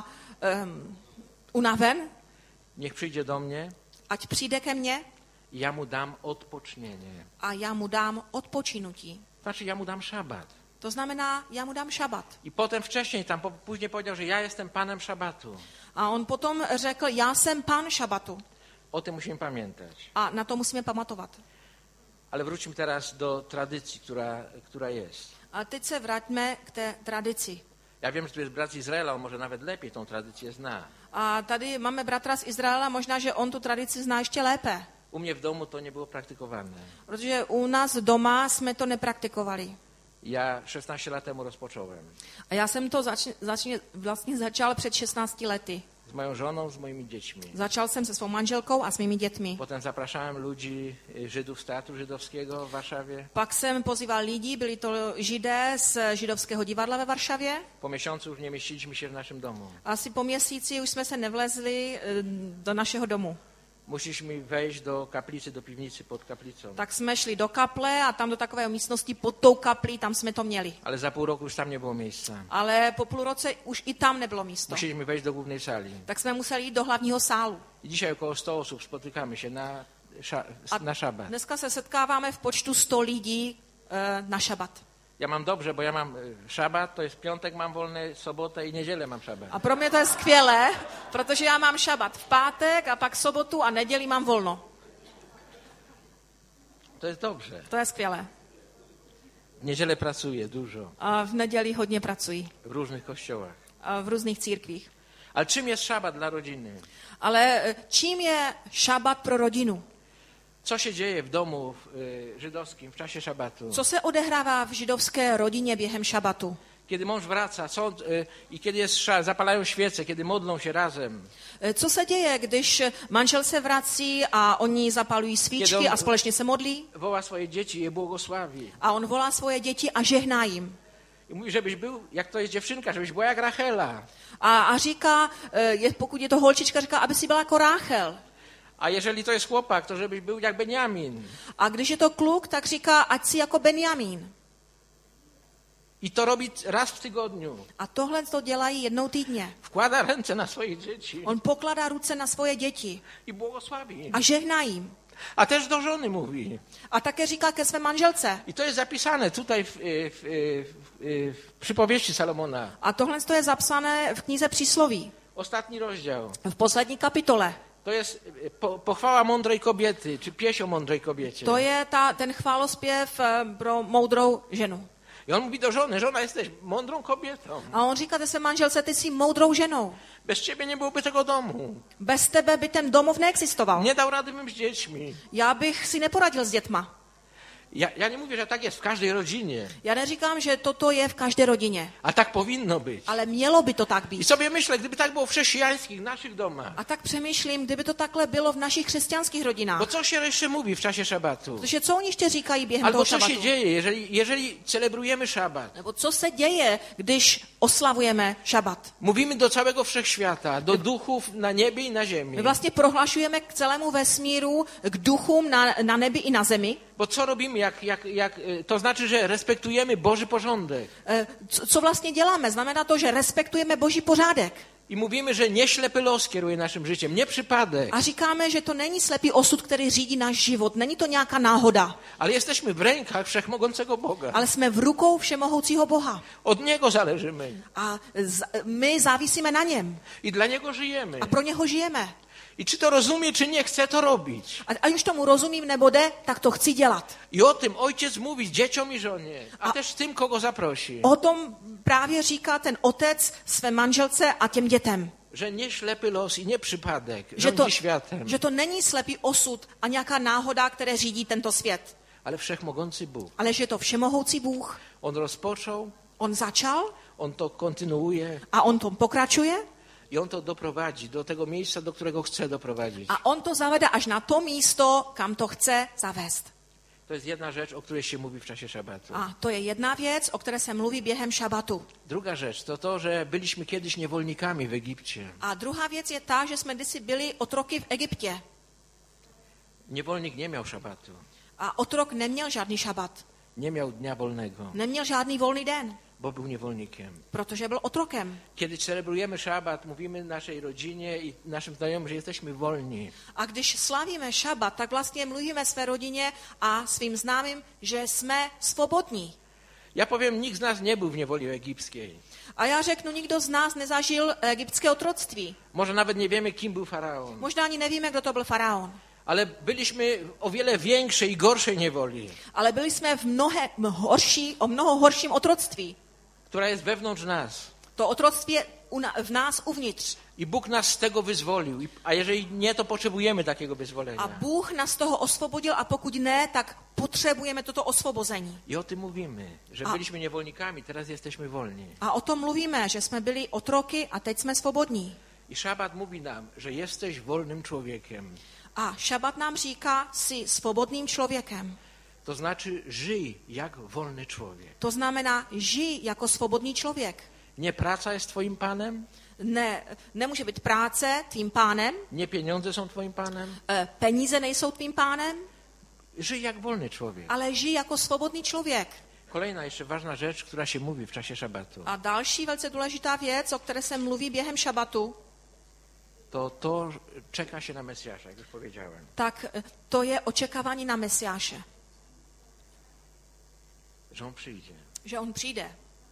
[SPEAKER 3] unaven,
[SPEAKER 2] niech przyjdzie do mnie.
[SPEAKER 3] Ať přijde ke mně.
[SPEAKER 2] I ja mu dám odpočnění.
[SPEAKER 3] A já mu dám odpočinutí.
[SPEAKER 2] Znaczy, ja mu dám szabat.
[SPEAKER 3] To znamená, já mu dám šabat.
[SPEAKER 2] I potem wcześniej, później powiedział, że ja jestem panem szabatu.
[SPEAKER 3] A on potom řekl, já jsem pán šabatu.
[SPEAKER 2] O tym musimy pamiętać.
[SPEAKER 3] A na to musíme pamatovat.
[SPEAKER 2] Ale wróćmy teraz do tradycji, która jest.
[SPEAKER 3] A teď se vraťme k té tradici.
[SPEAKER 2] Ja wiem, że tu jest brat z Izraela, on może nawet lepiej tą tradycję zna.
[SPEAKER 3] A tady máme bratra z Izraela, možná, že on tu tradici zná ještě lépe.
[SPEAKER 2] U mnie w domu to nie było praktykowane.
[SPEAKER 3] Protože u nás doma jsme to nepraktikovali.
[SPEAKER 2] Ja 16 lat temu rozpocząłem.
[SPEAKER 3] A já jsem to vlastně začal před 16 lety.
[SPEAKER 2] Z moją żoną, z moimi dziećmi.
[SPEAKER 3] Začal jsem se svou manželkou a s mými dětmi.
[SPEAKER 2] Potem zapraszałem ludzi, Żydów z Teatru Żydowskiego w Warszawie.
[SPEAKER 3] Pak jsem pozýval lidi, byli to Židé z Židovského divadla ve Varšavě.
[SPEAKER 2] Po miesiącu już nie mieściliśmy się w naszym domu.
[SPEAKER 3] Asi po měsíci už jsme se nevlezli do našeho domu.
[SPEAKER 2] Musieliśmy wejść do kaplicy, do piwnicy pod kaplicą.
[SPEAKER 3] Tak jsme šli do kaple a tam do takové místnosti pod tou kaplí, tam jsme to měli.
[SPEAKER 2] Ale za pół roku już tam nie było miejsca.
[SPEAKER 3] Ale po půl roce už i tam nebylo místo.
[SPEAKER 2] Musieliśmy wejść do głównej sali.
[SPEAKER 3] Tak jsme museli jít do hlavního sálu.
[SPEAKER 2] I dzisiaj około 100 osób spotykamy się na szabat.
[SPEAKER 3] Dneska se setkáváme v počtu 100 lidí na šabat.
[SPEAKER 2] Ja mam dobrze, bo ja mam szabat, to jest piątek mam wolny, sobotę i niedzielę mam szabat.
[SPEAKER 3] A pro mě to je skvělé, protože já mám šabat v pátek a pak sobotu a neděli mám volno.
[SPEAKER 2] To jest dobrze.
[SPEAKER 3] To je skvělé.
[SPEAKER 2] W niedzielę pracuję dużo.
[SPEAKER 3] A v neděli hodně pracuji.
[SPEAKER 2] W różnych kościołach.
[SPEAKER 3] A v různých církvích.
[SPEAKER 2] Ale czym jest szabat dla rodziny?
[SPEAKER 3] Ale čím je šabat pro rodinu?
[SPEAKER 2] Co się dzieje w domu żydowskim w czasie szabatu?
[SPEAKER 3] Co se odehrává v židovské rodině během šabatu?
[SPEAKER 2] Kiedy mąż wraca i kiedy jest zapalają świece, kiedy modlą się razem.
[SPEAKER 3] Co se děje, když manžel se vrací a oni zapalují svíčky a společně se modlí?
[SPEAKER 2] Woła swoje dzieci i je błogosławi.
[SPEAKER 3] A on volá svoje děti a žehná jim.
[SPEAKER 2] I mówi, żebyś był, jak to jest dziewczynka, żebyś była jak Rachela.
[SPEAKER 3] A říká, pokud je to holčička, říká, aby si byla jako Ráchel.
[SPEAKER 2] A jeżeli to jest chłopak, to żebyś był jak Benjamin.
[SPEAKER 3] A když je to kluk, tak říká, ať si jako Benjamín.
[SPEAKER 2] I to robi raz w tygodniu.
[SPEAKER 3] A tohle to dělají jednou týdně.
[SPEAKER 2] Wkłada ręce na swoje dzieci
[SPEAKER 3] On pokládá ruce na svoje děti
[SPEAKER 2] i błogosławi.
[SPEAKER 3] a žehná jim.
[SPEAKER 2] A też do żony mówi.
[SPEAKER 3] A také říká ke své manželce.
[SPEAKER 2] I to jest zapisane tutaj w przypowieści Salomona.
[SPEAKER 3] A tohle to je zapsané v knize Přísloví,
[SPEAKER 2] Ostatni rozdział.
[SPEAKER 3] v poslední kapitole.
[SPEAKER 2] To jest pochwała mądrej kobiety, czy pieśń o mądrej kobiecie.
[SPEAKER 3] To je ten chválospěv pro moudrou ženu.
[SPEAKER 2] I on mówi do żony, żona jesteś mądrą kobietą.
[SPEAKER 3] A on říká té své manželce, ty jsi moudrou ženou.
[SPEAKER 2] Bez ciebie nie byłoby tego domu.
[SPEAKER 3] Bez tebe by ten domov neexistoval.
[SPEAKER 2] Nie dał rady bym z dziećmi.
[SPEAKER 3] Já bych si neporadil s dětma.
[SPEAKER 2] Ja nie mówię, że tak jest w każdej rodzinie.
[SPEAKER 3] Já neříkám, že toto je v každé rodině.
[SPEAKER 2] A tak powinno być.
[SPEAKER 3] Ale mělo by to tak
[SPEAKER 2] I
[SPEAKER 3] být.
[SPEAKER 2] sobie myślę, gdyby tak było w chrześcijańskich, naszych domach.
[SPEAKER 3] A tak přemýšlím, kdyby to takhle bylo v našich křesťanských rodinách.
[SPEAKER 2] Bo co się jeszcze mówi w czasie szabatu?
[SPEAKER 3] Protože co oni ještě říkají během
[SPEAKER 2] Albo
[SPEAKER 3] toho
[SPEAKER 2] co
[SPEAKER 3] šabatu?
[SPEAKER 2] się dzieje, jeżeli celebrujemy szabat?
[SPEAKER 3] Nebo co se děje, když oslavujeme šabat?
[SPEAKER 2] Mówimy do całego wszechświata, do duchów na niebie i na ziemi.
[SPEAKER 3] My vlastně prohlašujeme k celému vesmíru, k duchům na nebi i na zemi.
[SPEAKER 2] Bo co robimy, to znaczy, że respektujemy Boży porządek.
[SPEAKER 3] Co vlastně děláme? Znamená to, že respektujeme Boží pořádek.
[SPEAKER 2] I mówimy, że nie ślepy los kieruje naszym życiem, nie przypadek.
[SPEAKER 3] A říkáme, že to není slepý osud, který řídí náš život. Není to nějaká náhoda.
[SPEAKER 2] Ale jesteśmy w rękach Wszechmogącego Boga.
[SPEAKER 3] Ale jsme v rukou všemohoucího Boha.
[SPEAKER 2] Od Niego zależymy.
[SPEAKER 3] A my závisíme na něm.
[SPEAKER 2] I dla Niego żyjemy.
[SPEAKER 3] A pro něho žijeme.
[SPEAKER 2] I czy to rozumie, czy nie, chce to robić.
[SPEAKER 3] A už tomu rozumím nebo jde, tak to chci dělat.
[SPEAKER 2] I o tym ojciec mówi dzieciom i żonie, a też tym, kogo zaprosi.
[SPEAKER 3] O tom právě říká ten otec své manželce a těm dětem.
[SPEAKER 2] Że nie ślepy los i nie przypadek
[SPEAKER 3] Že
[SPEAKER 2] rządzi światem,
[SPEAKER 3] že to není slepý osud a nějaká náhoda, které řídí tento svět.
[SPEAKER 2] ale Wszechmogący Bóg.
[SPEAKER 3] Ale že je to všemohoucí Bůh.
[SPEAKER 2] On rozpoczął,
[SPEAKER 3] On začal
[SPEAKER 2] On to kontynuuje
[SPEAKER 3] a on tom pokračuje
[SPEAKER 2] i On to doprowadzi do tego miejsca, do którego chce doprowadzić.
[SPEAKER 3] a on to zavede až na to místo, kam to chce zavést.
[SPEAKER 2] To jest jedna rzecz, o której się mówi w czasie szabatu.
[SPEAKER 3] A to je jedna věc, o které se mluví během šabatu.
[SPEAKER 2] Druga rzecz to to, że byliśmy kiedyś niewolnikami w Egipcie.
[SPEAKER 3] A druhá věc je ta, že jsme kdysi byli otroky v Egyptě.
[SPEAKER 2] Niewolnik nie miał szabatu,
[SPEAKER 3] A otrok neměl žádný šabat.
[SPEAKER 2] nie miał dnia wolnego,
[SPEAKER 3] Neměl žádný volný den,
[SPEAKER 2] bo był niewolnikiem.
[SPEAKER 3] protože byl otrokem.
[SPEAKER 2] Kiedy celebrujemy szabat, mówimy naszej rodzinie i naszym znajomym, że jesteśmy wolni.
[SPEAKER 3] A když slavíme šabat, tak vlastně mluvíme své rodině a svým známým, že jsme svobodní.
[SPEAKER 2] Ja powiem, nikt z nas nie był w niewoli egipskiej.
[SPEAKER 3] A já řeknu, nikdo z nás nezažil egyptské otroctví.
[SPEAKER 2] Może nawet nie wiemy, kim był faraon.
[SPEAKER 3] Možná ani nevíme, kdo to byl faraon.
[SPEAKER 2] Ale byliśmy w o wiele większej i gorszej niewoli,
[SPEAKER 3] Ale byli jsme v o mnoho horším otroctví.
[SPEAKER 2] która jest wewnątrz nas.
[SPEAKER 3] To otroctví je v nás uvnitř.
[SPEAKER 2] I Bóg nas z tego wyzwolił. A jeżeli nie, to potrzebujemy takiego wyzwolenia.
[SPEAKER 3] A Bůh nás z toho osvobodil a pokud ne, tak potřebujeme toto osvobození.
[SPEAKER 2] I o tym mówimy, że byliśmy niewolnikami, teraz jesteśmy wolni.
[SPEAKER 3] A o tom mluvíme, že jsme byli otroky a teď jsme svobodní.
[SPEAKER 2] I szabat mówi nam, że jesteś wolnym człowiekiem.
[SPEAKER 3] A šabat nám říká, jsi svobodným člověkem.
[SPEAKER 2] To znaczy, żyj jak wolny człowiek.
[SPEAKER 3] To znamená, žij jako svobodný člověk.
[SPEAKER 2] Nie praca jest twoim panem,
[SPEAKER 3] Nemůže být práce tvým pánem,
[SPEAKER 2] nie pieniądze są twoim panem.
[SPEAKER 3] peníze nejsou tvým pánem,
[SPEAKER 2] Żyj jak wolny człowiek.
[SPEAKER 3] ale žij jako svobodný člověk.
[SPEAKER 2] Kolejna jeszcze ważna rzecz, która się mówi w czasie szabatu.
[SPEAKER 3] A další velice důležitá věc, o které se mluví během šabatu,
[SPEAKER 2] To czeka się na Mesjasza, jak już powiedziałem.
[SPEAKER 3] tak to je očekávání na Mesiáše.
[SPEAKER 2] Że on przyjdzie.
[SPEAKER 3] Že on přijde.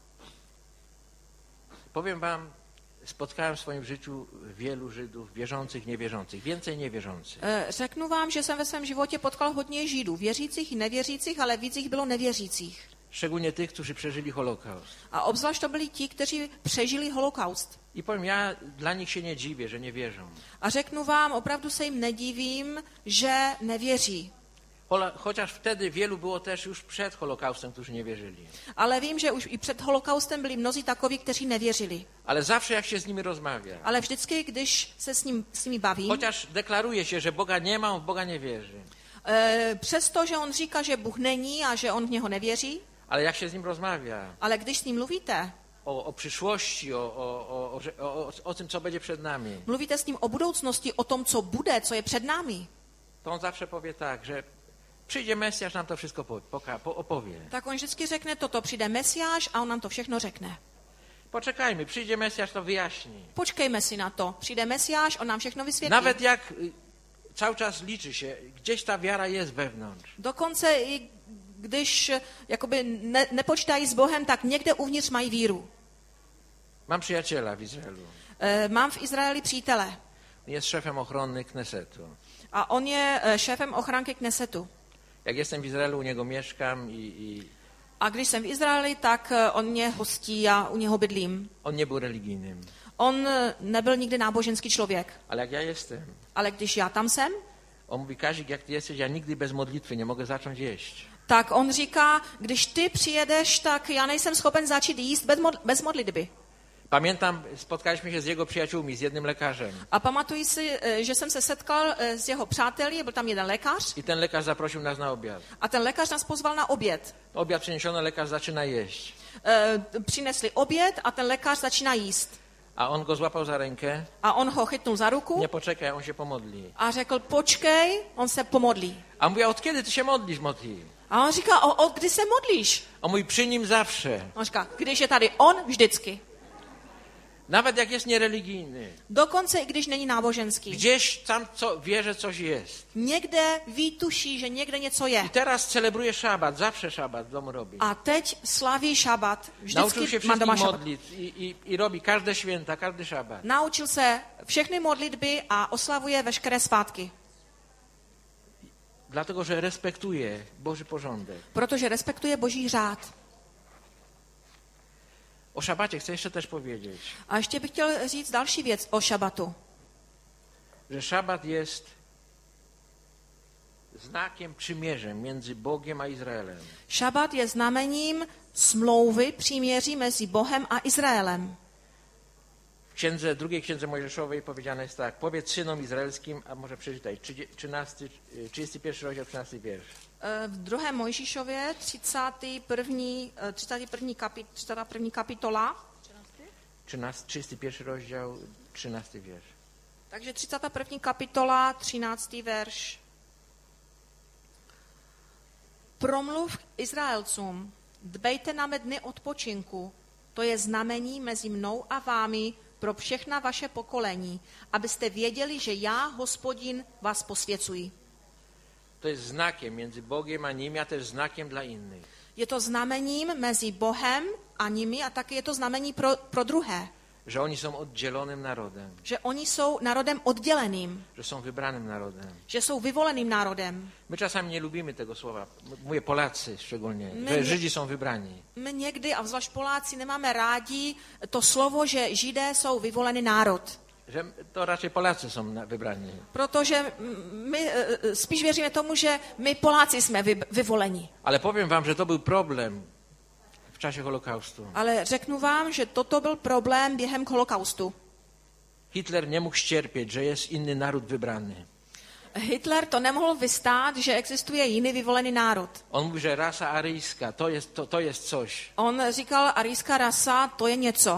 [SPEAKER 2] Powiem wam, spotkałem w swoim życiu wielu Żydów, wierzących, niewierzących, więcej niewierzących.
[SPEAKER 3] Řeknu vám, že jsem ve svém životě potkal hodně Židů, věřících i nevěřících, ale víc jich bylo nevěřících.
[SPEAKER 2] Szczególnie tych, którzy przeżyli Holokaust.
[SPEAKER 3] A obzvlášť to byli ti, kteří přežili holokaust.
[SPEAKER 2] I powiem, ja dla nich się nie dziwię, że nie wierzą.
[SPEAKER 3] A řeknu vám, opravdu se jim nedivím, že nevěří.
[SPEAKER 2] Chociaż wtedy wielu było też już przed Holokaustem, którzy nie wierzyli.
[SPEAKER 3] Ale vím, že už i před holokaustem byli mnozí takoví, kteří nevěřili.
[SPEAKER 2] Ale zawsze jak się z nimi rozmawia,
[SPEAKER 3] Ale vždycky, když se s nimi bavím,
[SPEAKER 2] chociaż deklaruje się, że Boga nie ma, on w Boga nie wierzy.
[SPEAKER 3] Přesto, že on říká, že Bůh není a že on v něho nevěří,
[SPEAKER 2] Ale jak się z nim rozmawia
[SPEAKER 3] ale když s ním mluvíte,
[SPEAKER 2] o przyszłości, o tym, co będzie przed nami,
[SPEAKER 3] mluvíte s ním o budoucnosti, o tom, co bude, co je před námi,
[SPEAKER 2] to on zawsze powie tak, że Przyjdzie Mesjasz, nam to wszystko opowie.
[SPEAKER 3] Tak on vždycky řekne toto, přijde Mesiáš a on nám to všechno řekne.
[SPEAKER 2] Poczekajmy, przyjdzie Mesjasz, to wyjaśni.
[SPEAKER 3] Počkejme si na to. Přijde Mesiáš, on nám všechno vysvětlí.
[SPEAKER 2] Nawet jak cały czas liczy się, gdzieś ta wiara jest wewnątrz.
[SPEAKER 3] Dokonce i když jakoby nepočítají s Bohem, tak někde uvnitř mají víru.
[SPEAKER 2] Mam przyjaciela w Izraelu.
[SPEAKER 3] Mám v Izraeli přítele
[SPEAKER 2] Jest szefem ochrony Knesetu.
[SPEAKER 3] a on je šéfem ochranky Knesetu.
[SPEAKER 2] Jak jestem w Izraelu, u niego mieszkam
[SPEAKER 3] A když jsem v Izraeli, tak on mě hostí a u něho bydlím.
[SPEAKER 2] on nie był religijnym.
[SPEAKER 3] On nebyl nikdy náboženský člověk,
[SPEAKER 2] Ale jak ja jestem,
[SPEAKER 3] ale když já tam jsem,
[SPEAKER 2] on mówi, Kazik, jak ty jesteś, ja nigdy bez modlitwy nie mogę zacząć jeść.
[SPEAKER 3] tak on říká, když ty přijedeš, tak já nejsem schopen začít jíst bez modlitby.
[SPEAKER 2] Pamiętam, spotkaliśmy się z jego przyjaciółmi, z jednym lekarzem.
[SPEAKER 3] A pamatuji si, že jsem se setkal s jeho přáteli, byl tam jeden lékař
[SPEAKER 2] I ten lekarz zaprosił nas na obiad.
[SPEAKER 3] a ten lékař nás pozval na oběd.
[SPEAKER 2] Obiad przyniesiono, lekarz zaczyna jeść.
[SPEAKER 3] Přinesli oběd a ten lékař začíná jíst.
[SPEAKER 2] A on go złapał za rękę.
[SPEAKER 3] A on ho chytnul za ruku
[SPEAKER 2] Nie poczekaj, on się pomodli.
[SPEAKER 3] a řekl, počkej, on se pomodlí.
[SPEAKER 2] A mówi, a od kiedy ty się modlisz, Moti?
[SPEAKER 3] A on říká, od kdy se modlíš?
[SPEAKER 2] On mówi, przy nim zawsze.
[SPEAKER 3] On říká, když je tady on, vždycky.
[SPEAKER 2] Nawet jak jest niereligijny.
[SPEAKER 3] Dokonce i když není náboženský.
[SPEAKER 2] Gdzieś tam wie, że coś jest.
[SPEAKER 3] Někde tuší, že někde něco je.
[SPEAKER 2] I teraz celebruje szabat, zawsze szabat w domu robi.
[SPEAKER 3] A teď slaví šabat.
[SPEAKER 2] Nauczył się
[SPEAKER 3] Vždycky má doma
[SPEAKER 2] wszystkich
[SPEAKER 3] šabat.
[SPEAKER 2] modlić i robi każde święta, każdy szabat.
[SPEAKER 3] Naučil se všechny modlitby a oslavuje veškeré svátky.
[SPEAKER 2] Dlatego, że respektuje Boży porządek.
[SPEAKER 3] Protože respektuje Boží řád.
[SPEAKER 2] O szabacie chcę jeszcze też powiedzieć,
[SPEAKER 3] A ještě bych chtěl říct další věc o šabatu.
[SPEAKER 2] że szabat jest znakiem, przymierzem między Bogiem a Izraelem.
[SPEAKER 3] Šabat je znamením smlouvy, příměří mezi Bohem a Izraelem.
[SPEAKER 2] W drugiej księdze Mojżeszowej powiedziane jest tak: powiedz synom izraelskim, a może przeczytaj, 31 rozdział, 13 wiersz.
[SPEAKER 3] V 2. Mojžíšově 31. kapitola.
[SPEAKER 2] 31 rozdział, 13 wiersz.
[SPEAKER 3] Takže 31. kapitola, 13. verš. Promluv Izraelcům, dbejte na mé dny odpočinku, to je znamení mezi mnou a vámi pro všechna vaše pokolení, abyste věděli, že já, Hospodin, vás posvěcuji.
[SPEAKER 2] To jest znakiem między Bogiem a nimi, a też znakiem dla innych.
[SPEAKER 3] Je to znamením mezi Bohem a nimi a také je to znamení pro druhé.
[SPEAKER 2] Że oni są oddzielonym narodem.
[SPEAKER 3] Že oni jsou národem odděleným.
[SPEAKER 2] Że są wybranym narodem.
[SPEAKER 3] Že jsou vyvoleným národem.
[SPEAKER 2] My czasami nie lubimy tego słowa. Mówię Polacy szczególnie, że Żydzi są wybrani.
[SPEAKER 3] My někdy, a zvlášť Poláci, nemáme rádi to slovo, že Židé jsou vyvolený národ.
[SPEAKER 2] Że to raczej Polacy są wybrani.
[SPEAKER 3] Protože my spíš věříme tomu, že my Poláci jsme vyvoleni.
[SPEAKER 2] Ale powiem wam, że to był problem w czasie Holokaustu.
[SPEAKER 3] Ale řeknu vám, že toto byl problém během holokaustu.
[SPEAKER 2] Hitler nie mógł ścierpieć, że jest inny naród wybrany.
[SPEAKER 3] Hitler to nemohl vystát, že existuje jiný vyvolený národ.
[SPEAKER 2] On mówi, że rasa aryjska to jest coś.
[SPEAKER 3] On říkal, arijská rasa, to je něco.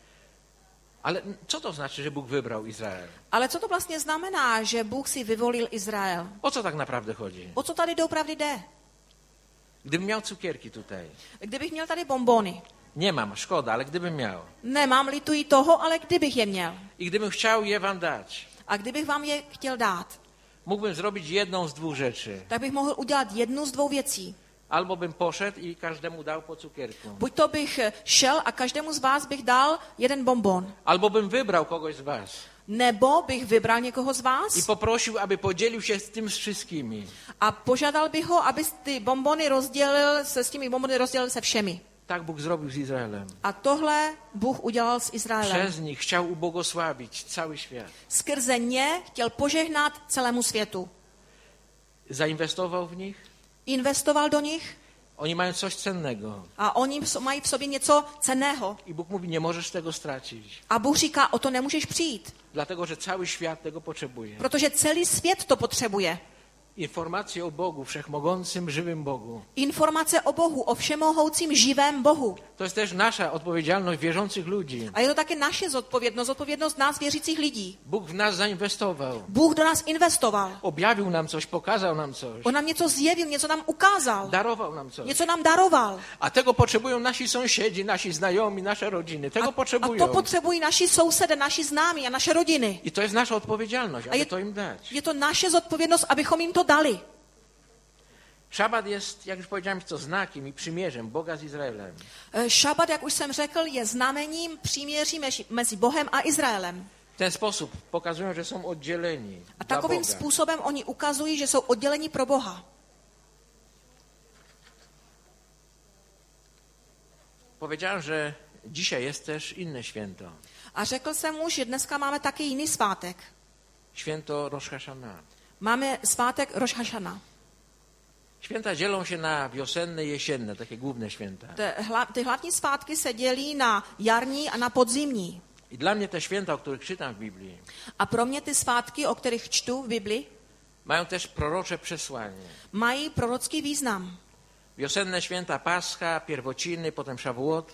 [SPEAKER 2] Ale co to znaczy, że Bóg wybrał Izrael?
[SPEAKER 3] Ale co to vlastně znamená, že Bůh si vyvolil Izrael?
[SPEAKER 2] O co tak naprawdę chodzi?
[SPEAKER 3] O co tady doopravdy jde?
[SPEAKER 2] Gdybym miał cukierki tutaj.
[SPEAKER 3] Kdybych měl tady bonbony.
[SPEAKER 2] Nie mam, szkoda, ale gdybym miał.
[SPEAKER 3] Nemám, lituji toho, ale kdybych je měl.
[SPEAKER 2] I gdybym chciał je wam dać.
[SPEAKER 3] A kdybych vám je chtěl dát,
[SPEAKER 2] Mógłbym zrobić jedną z dwóch rzeczy.
[SPEAKER 3] tak bych mohl udělat jednu z dvou věcí.
[SPEAKER 2] Albo bym poszedł i każdemu dał po cukierku.
[SPEAKER 3] Buď to bych šel a každému z vás bych dal jeden bonbon.
[SPEAKER 2] Albo bym wybrał kogoś z was.
[SPEAKER 3] Nebo bych vybral někoho z
[SPEAKER 2] I
[SPEAKER 3] vás
[SPEAKER 2] poprosił, aby podzielił się z tym z wszystkimi.
[SPEAKER 3] a požádal bych ho, aby ty bonbony s těmi bonbony rozdělil se všemi.
[SPEAKER 2] Tak Bóg zrobił z Izraelem.
[SPEAKER 3] A tohle Bůh udělal s Izraelem.
[SPEAKER 2] Przez nich chciał ubłogosławić cały świat.
[SPEAKER 3] Skrze ně chtěl požehnat celému světu.
[SPEAKER 2] Zainwestował w nich.
[SPEAKER 3] Investoval do nich
[SPEAKER 2] Oni mają coś cennego.
[SPEAKER 3] a oni mají v sobě něco cenného.
[SPEAKER 2] I Bóg mówi, nie możesz tego stracić.
[SPEAKER 3] A Bůh říká, o to nemůžeš přijít,
[SPEAKER 2] Dlatego, że cały świat tego potrzebuje.
[SPEAKER 3] protože celý svět to potřebuje.
[SPEAKER 2] Informacje o Bogu, wszechmogącym, żywym Bogu.
[SPEAKER 3] Informace o Bohu, o všemohoucím živém Bohu.
[SPEAKER 2] To jest też nasza odpowiedzialność wierzących ludzi.
[SPEAKER 3] A je to také naše zodpovědnost nás věřících lidí.
[SPEAKER 2] Bóg w nas zainwestował.
[SPEAKER 3] Bůh do nás investoval.
[SPEAKER 2] Objawił nam coś, pokazał nam coś.
[SPEAKER 3] On nám něco zjevil, něco nám ukázal.
[SPEAKER 2] Darował nam coś.
[SPEAKER 3] Něco nám daroval.
[SPEAKER 2] A tego potrzebują nasi sąsiedzi, nasi znajomi, nasze rodziny. Tego
[SPEAKER 3] A
[SPEAKER 2] potrzebują.
[SPEAKER 3] to potřebují naši sousedé, naši známí a naše rodiny.
[SPEAKER 2] I to jest nasza odpowiedzialność, aby
[SPEAKER 3] je-
[SPEAKER 2] to im dać.
[SPEAKER 3] Je to naše zodpovědnost, abychom jim to dali.
[SPEAKER 2] Szabat jest, jak już powiedziałem, to znakiem i przymierzem Boga z Izraelem.
[SPEAKER 3] Šabat, jak už jsem řekl, je znamením příměří mezi Bohem a Izraelem.
[SPEAKER 2] W ten sposób pokazują, że są oddzieleni
[SPEAKER 3] A
[SPEAKER 2] dla
[SPEAKER 3] takovým
[SPEAKER 2] Boga.
[SPEAKER 3] způsobem oni ukazují, že jsou odděleni pro Boha.
[SPEAKER 2] Powiedziałem, że dzisiaj jest też inne święto.
[SPEAKER 3] A řekl jsem mu, že dneska máme taky jiný svátek.
[SPEAKER 2] Święto Rosh Hashana.
[SPEAKER 3] Máme svátek Rosh Hashana.
[SPEAKER 2] Święta dzielą się na wiosenne i jesienne, takie główne święta.
[SPEAKER 3] Ty hlavní svátky se dělí na jarní a na podzimní.
[SPEAKER 2] I dla mnie te święta, o których czytam w Biblii,
[SPEAKER 3] A pro mě ty svátky, o kterých čtu v Bibli,
[SPEAKER 2] mają też prorocze przesłanie.
[SPEAKER 3] mají prorocký význam.
[SPEAKER 2] Wiosenne święta Pascha, Pierwociny, potem Szawuot.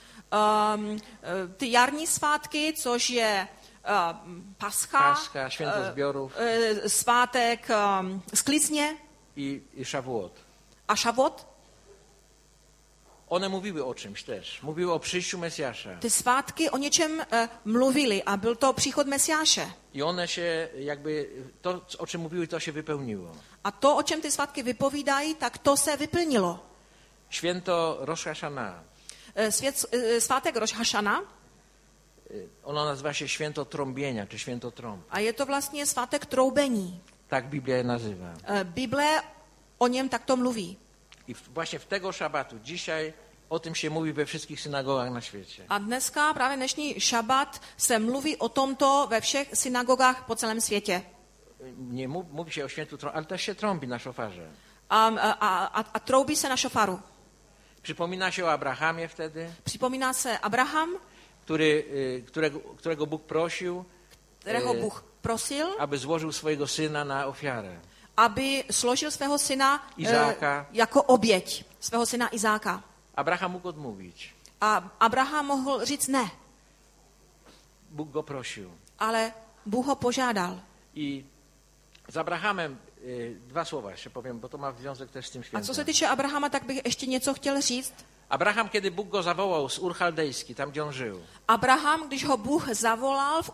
[SPEAKER 3] Ty jarní svátky, což je Pascha,
[SPEAKER 2] Święto Zbiorów
[SPEAKER 3] svátek sklizně
[SPEAKER 2] i Szawuot.
[SPEAKER 3] a Šavot.
[SPEAKER 2] One mówiły o czymś też. Mówiły o przyjściu Mesjasza.
[SPEAKER 3] Ty svátky o něčem mluvili a byl to příchod Mesiáše.
[SPEAKER 2] I one się jakby, to o czym mówiły, to się wypełniło.
[SPEAKER 3] A to, o čem ty svátky vypovídají, tak to se vyplnilo.
[SPEAKER 2] Święto Rosh Hashana.
[SPEAKER 3] Svátek Rosh Hashana,
[SPEAKER 2] Ono nazywa się święto trąbienia, czy święto trąb.
[SPEAKER 3] a je to vlastně svátek troubení.
[SPEAKER 2] Tak Biblia je nazywa.
[SPEAKER 3] Bible o něm takto mluví.
[SPEAKER 2] I właśnie w tego szabatu dzisiaj o tym się mówi we wszystkich synagogach na świecie.
[SPEAKER 3] A dneska, právě dnešní šabat, se mluví o tomto ve všech synagogách po celém světě.
[SPEAKER 2] Nie mówi się o świętu trąb, ale też się trąbi na szofarze.
[SPEAKER 3] A troubí se na šofaru.
[SPEAKER 2] Przypomina się o Abrahamie wtedy,
[SPEAKER 3] Připomíná se Abraham,
[SPEAKER 2] którego Bóg prosił,
[SPEAKER 3] kterého Bůh prosil,
[SPEAKER 2] aby złożył swojego syna na ofiarę.
[SPEAKER 3] aby složil svého syna
[SPEAKER 2] Izáka.
[SPEAKER 3] jako oběť, svého syna Izáka.
[SPEAKER 2] Abraham mógł odmówić.
[SPEAKER 3] A Abraham mohl říct ne,
[SPEAKER 2] Bóg go prosił.
[SPEAKER 3] ale Bůh ho požádal.
[SPEAKER 2] I z Abrahamem dwa słowa jeszcze powiem, bo to ma związek też z tym
[SPEAKER 3] A
[SPEAKER 2] świętem.
[SPEAKER 3] co se týče Abrahama, tak bych ještě něco chtěl říct.
[SPEAKER 2] Abraham, kiedy Bóg go zawołał z Ur Chaldejski, tam gdzie on żył,
[SPEAKER 3] Abraham, když ho Bůh zavolal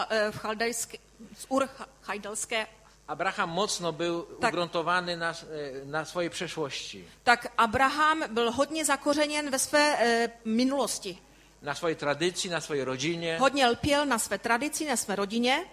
[SPEAKER 3] z Ur Chajdelské,
[SPEAKER 2] Abraham mocno był
[SPEAKER 3] Tak.
[SPEAKER 2] ugruntowany na swojej przeszłości,
[SPEAKER 3] tak Abraham byl hodně zakořeněn ve své minulosti.
[SPEAKER 2] na swojej tradycji, na swojej rodzinie.
[SPEAKER 3] Hodně lpěl na své tradici, na své rodině.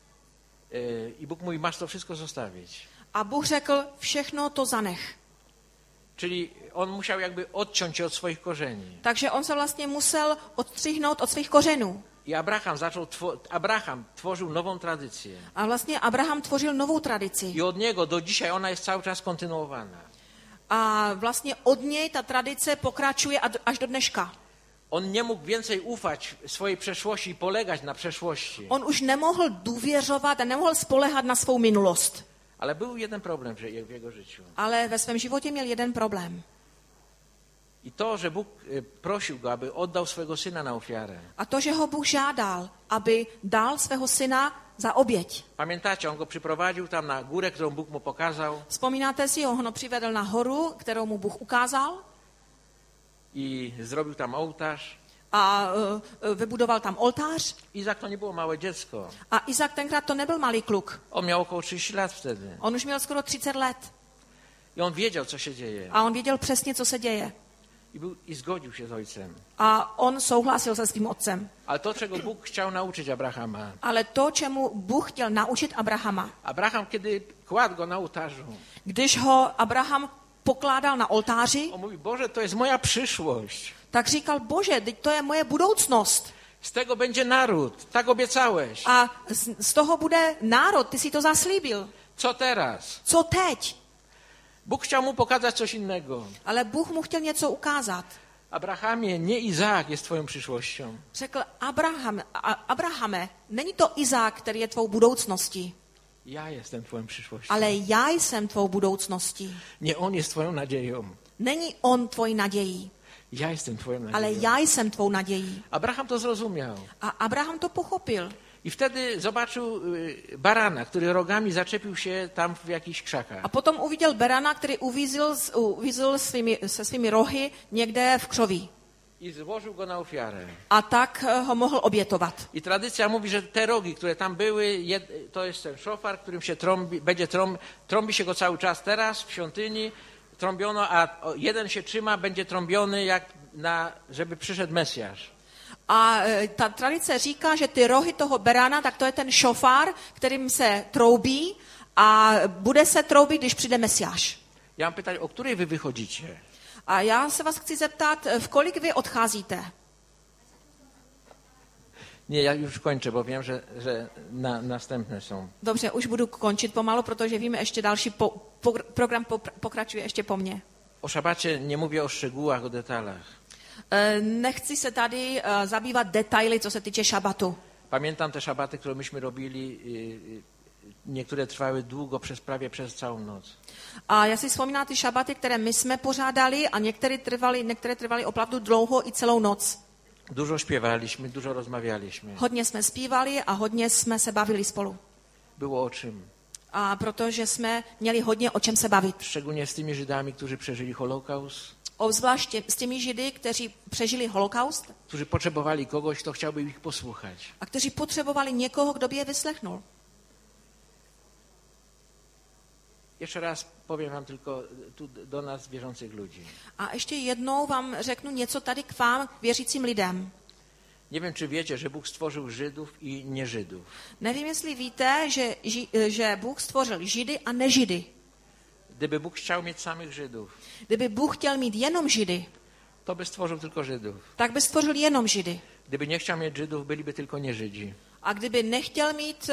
[SPEAKER 2] I Bóg mówi, masz to wszystko zostawić.
[SPEAKER 3] A Bůh řekl, všechno to zanech.
[SPEAKER 2] Czyli on musiał jakby odciąć się od swoich korzeni.
[SPEAKER 3] Takže on se vlastně musel odstřihnout od svých kořenů.
[SPEAKER 2] I Abraham tworzył nową tradycję.
[SPEAKER 3] A vlastně Abraham tvořil novou tradici.
[SPEAKER 2] I od niego do dzisiaj ona jest cały czas kontynuowana.
[SPEAKER 3] A vlastně od něj ta tradice pokračuje až do dneška.
[SPEAKER 2] On nie mógł więcej ufać swojej przeszłości i polegać na przeszłości.
[SPEAKER 3] On už nemohl důvěřovat a nemohl spolehat na svou minulost.
[SPEAKER 2] Ale był jeden problem w jego życiu.
[SPEAKER 3] Ale ve svém životě měl jeden problém.
[SPEAKER 2] I to, że Bóg prosił go, aby oddał swojego syna na ofiarę.
[SPEAKER 3] A to, že ho Bůh žádal, aby dal svého syna za oběť.
[SPEAKER 2] Pamiętacie, on go przyprowadził tam na górę, którą Bóg mu pokazał
[SPEAKER 3] Vzpomínáte si, on ho přivedl na horu, kterou mu Bůh ukázal
[SPEAKER 2] i zrobił tam ołtarz.
[SPEAKER 3] a vybudoval tam oltář.
[SPEAKER 2] Izak to nie było małe dziecko.
[SPEAKER 3] A Izak tenkrát to nebyl malý kluk.
[SPEAKER 2] On miał około 30 lat wtedy.
[SPEAKER 3] On už měl skoro 30 let.
[SPEAKER 2] I on wiedział, co się dzieje.
[SPEAKER 3] A on věděl přesně, co se děje.
[SPEAKER 2] I zgodził się z ojcem.
[SPEAKER 3] A on souhlasil se svým otcem.
[SPEAKER 2] Ale to, czego Bóg chciał nauczyć Abrahama.
[SPEAKER 3] Ale to, čemu Bůh chtěl naučit Abrahama,
[SPEAKER 2] Abraham, kiedy kładł go na ołtarzu,
[SPEAKER 3] když ho Abraham pokládal na oltáři,
[SPEAKER 2] on mówi, Boże, to jest moja przyszłość.
[SPEAKER 3] tak říkal, Bože, teď to je moje budoucnost.
[SPEAKER 2] Z tego będzie naród. Tak obiecałeś.
[SPEAKER 3] A z toho bude národ, ty si to zaslíbil.
[SPEAKER 2] Co teraz?
[SPEAKER 3] Co teď?
[SPEAKER 2] Bóg chciał mu pokazać coś innego.
[SPEAKER 3] Ale Bůh mu chtěl něco ukázat.
[SPEAKER 2] Abrahamie, nie Izaak jest twoją przyszłością.
[SPEAKER 3] Řekl, Abrahame, není to Izák, který je tvou budoucností.
[SPEAKER 2] Ja jestem twoją przyszłością.
[SPEAKER 3] ale já jsem tvou budoucností.
[SPEAKER 2] Nie on jest twoją nadzieją.
[SPEAKER 3] Není on tvojí nadějí,
[SPEAKER 2] Ja jestem twoją nadzieją.
[SPEAKER 3] ale já jsem tvou nadějí.
[SPEAKER 2] Abraham to zrozumiał.
[SPEAKER 3] A Abraham to pochopil.
[SPEAKER 2] I wtedy zobaczył barana, który rogami zaczepił się tam w jakichś krzakach.
[SPEAKER 3] A potom uviděl berana, který uvízl se svými rohy někde v křoví.
[SPEAKER 2] I złożył go na ofiarę.
[SPEAKER 3] A tak ho mohl obětovat.
[SPEAKER 2] I tradycja mówi, że te rogi, które tam były, to jest ten szofar, którym się trąbi się go cały czas teraz w świątyni, trąbiono, a jeden się trzyma, będzie trąbiony, żeby przyszedł Mesjasz.
[SPEAKER 3] A ta tradice říká, že ty rohy toho berana, tak to je ten šofár, kterým se troubí a bude se troubit, když přijde Mesiáš.
[SPEAKER 2] Ja mam pytanie, o której wy wychodzicie?
[SPEAKER 3] A já se vás chci zeptat, v kolik vy odcházíte?
[SPEAKER 2] Nie, ja już kończę, bo wiem, że następne są.
[SPEAKER 3] Dobře, už budu končit pomalu, protože víme, ještě další program pokračuje ještě po mně.
[SPEAKER 2] O szabacie nie mówię o szczegółach, o detalach.
[SPEAKER 3] Nechci se tady zabývat detaily, co se týče šabatu.
[SPEAKER 2] Pamiętam te szabaty, które myśmy robili, niektóre trwały długo, prawie przez całą noc.
[SPEAKER 3] A já si vzpomínám ty šabaty, které my jsme pořádali a některé trvaly opravdu dlouho i celou noc.
[SPEAKER 2] Dużo śpiewaliśmy, dużo rozmawialiśmy.
[SPEAKER 3] Hodně jsme zpívali a hodně jsme se bavili spolu.
[SPEAKER 2] Było o czym.
[SPEAKER 3] A protože jsme měli hodně o čem se bavit.
[SPEAKER 2] Szczególnie z tymi Żydami, którzy przeżyli Holokaust.
[SPEAKER 3] Obzvlášť s těmi Židy, kteří přežili holokaust
[SPEAKER 2] Którzy potrzebowali kogoś, kto chciałby ich posłuchać.
[SPEAKER 3] a kteří potřebovali někoho, kdo by je vyslechnul.
[SPEAKER 2] Jeszcze raz powiem wam tylko tu do nas wierzących ludzi.
[SPEAKER 3] A ještě jednou vám řeknu něco tady k vám, věřícím lidem.
[SPEAKER 2] Nie wiem, czy wiecie, że Bóg stworzył Żydów i nieżydów.
[SPEAKER 3] Nevím, jestli víte, že Bůh stvořil Židy a nežidy.
[SPEAKER 2] Gdyby Bóg chciał mieć samych Żydów,
[SPEAKER 3] Kdyby Bůh chtěl mít jenom Židy,
[SPEAKER 2] to by stworzył tylko Żydów.
[SPEAKER 3] tak by stvořil jenom Židy.
[SPEAKER 2] Gdyby nie chciał mieć Żydów, byliby tylko nieżydzi.
[SPEAKER 3] A kdyby nechtěl mít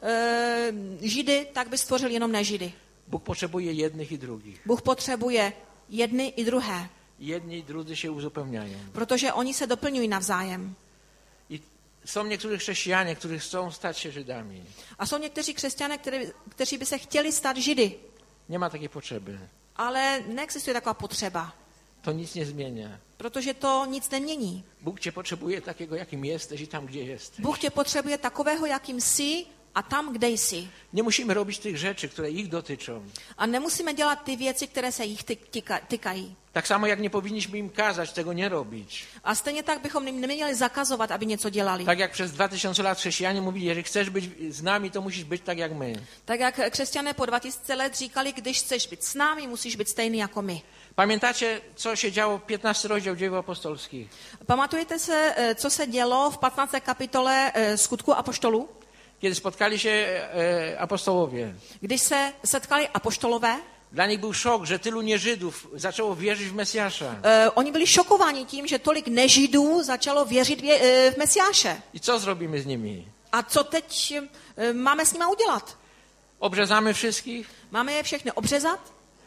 [SPEAKER 3] Židy, tak by stvořil jenom nežidy.
[SPEAKER 2] Bóg potrzebuje jednych i drugich.
[SPEAKER 3] Bůh potřebuje jedny i druhé,
[SPEAKER 2] Jedni i drudzy się uzupełniają.
[SPEAKER 3] protože oni se doplňují navzájem.
[SPEAKER 2] I są niektórzy chrześcijanie, którzy chcą stać się Żydami.
[SPEAKER 3] A jsou někteří křesťané, kteří by se chtěli stát Židy,
[SPEAKER 2] Nie ma takiej potrzeby.
[SPEAKER 3] ale neexistuje taková potřeba,
[SPEAKER 2] To nic nie zmienia.
[SPEAKER 3] protože to nic nemění.
[SPEAKER 2] Bóg cię potrzebuje takiego, jakim jesteś i tam, gdzie jesteś.
[SPEAKER 3] Bůh tě potřebuje takového, jakým jsi a tam, kde jsi.
[SPEAKER 2] Nie musimy robić tych rzeczy, które ich dotyczą.
[SPEAKER 3] A nemusíme dělat ty věci, které se jich týkají.
[SPEAKER 2] Tak samo jak nie powinniśmy im kazać tego nie robić.
[SPEAKER 3] A stejně tak bychom jim neměli zakazovat, aby něco dělali.
[SPEAKER 2] Tak jak przez 2000 lat chrześcijanie mówili, jeżeli chcesz być z nami, to musisz być tak jak my.
[SPEAKER 3] Tak jak křesťané po 2000 let říkali, když chceš být s námi, musíš být stejný jako my.
[SPEAKER 2] Pamiętacie, co się działo w 15 rozdział Dziejów Apostolskich?
[SPEAKER 3] Pamatujete se, co se dělo v 15. kapitole Skutku apoštolů?
[SPEAKER 2] Kiedy spotkali się apostołowie.
[SPEAKER 3] Když se setkali apoštolové,
[SPEAKER 2] Dla nich był szok, że tylu nieżydów zaczęło wierzyć w Mesjasza.
[SPEAKER 3] oni byli šokováni tím, že tolik nežidů začalo věřit v Mesiáše.
[SPEAKER 2] I co zrobimy z nimi?
[SPEAKER 3] A co teď máme s nima udělat?
[SPEAKER 2] Obrzezamy wszystkich?
[SPEAKER 3] Máme je všechny obřezat?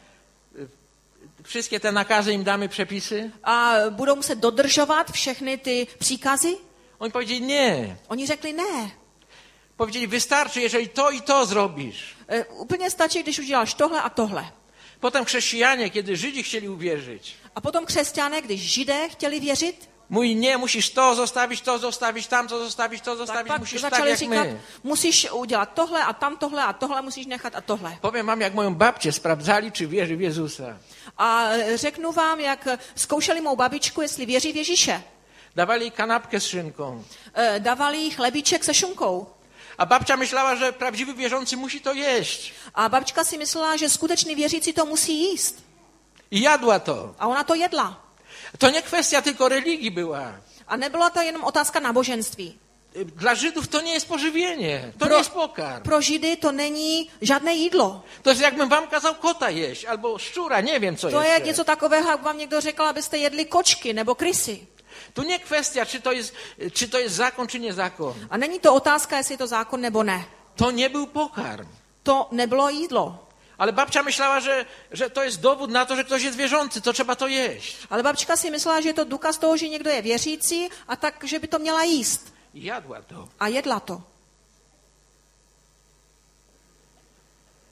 [SPEAKER 2] Wszystkie te nakazy im damy, przepisy?
[SPEAKER 3] A budou muset dodržovat všechny ty příkazy?
[SPEAKER 2] Oni powiedzieli nie.
[SPEAKER 3] Oni řekli ne.
[SPEAKER 2] Powiedzieli, wystarczy, jeżeli to i to zrobisz.
[SPEAKER 3] Úplně stačí, když uděláš tohle a tohle.
[SPEAKER 2] Potem chrześcijanie, kiedy Żydzi chcieli uwierzyć,
[SPEAKER 3] A potom křesťané, když Židé chtěli věřit,
[SPEAKER 2] mówi, nie, musisz to zostawić, tamto zostawić, to
[SPEAKER 3] tak
[SPEAKER 2] zostawić,
[SPEAKER 3] pak
[SPEAKER 2] musisz tak
[SPEAKER 3] začali
[SPEAKER 2] jak
[SPEAKER 3] říkat,
[SPEAKER 2] my.
[SPEAKER 3] musíš udělat tohle a tohle musíš nechat a tohle.
[SPEAKER 2] Powiem wam, jak moją babcię sprawdzali, czy wierzy w Jezusa.
[SPEAKER 3] A řeknu vám, jak zkoušeli mou babičku, jestli věří v Ježíše.
[SPEAKER 2] Dawali jej kanapkę z szynką.
[SPEAKER 3] Dávali jí chlebíček se šunkou.
[SPEAKER 2] A babcia myślała, że prawdziwy wierzący musi to jeść.
[SPEAKER 3] A babička si myslela, že skutečný věřící to musí jíst.
[SPEAKER 2] I jadła to.
[SPEAKER 3] A ona to jedla.
[SPEAKER 2] To nie kwestia tylko religii była.
[SPEAKER 3] A nebyla to jenom otázka náboženství.
[SPEAKER 2] Dla Żydów to nie jest pożywienie, to nie jest pokarm.
[SPEAKER 3] Pro Židy to není žádné jídlo.
[SPEAKER 2] To jest jakbym wam kazał kota jeść, albo szczura, nie wiem co
[SPEAKER 3] To je
[SPEAKER 2] jeszcze.
[SPEAKER 3] něco takového, jak vám někdo řekl, abyste jedli kočky nebo krysy.
[SPEAKER 2] Tu nie kwestia, czy to jest zakon, czy nie zakon.
[SPEAKER 3] A není to otázka, jestli je to zákon nebo ne.
[SPEAKER 2] To nie był pokarm.
[SPEAKER 3] To nebylo jídlo.
[SPEAKER 2] Ale babcia myślała, że to jest dowód na to, że ktoś jest wierzący, to trzeba to jeść.
[SPEAKER 3] Ale babička si myslela, že je to důkaz toho, že někdo je věřící a tak, že by to měla jíst.
[SPEAKER 2] I jadła to.
[SPEAKER 3] A jedla to.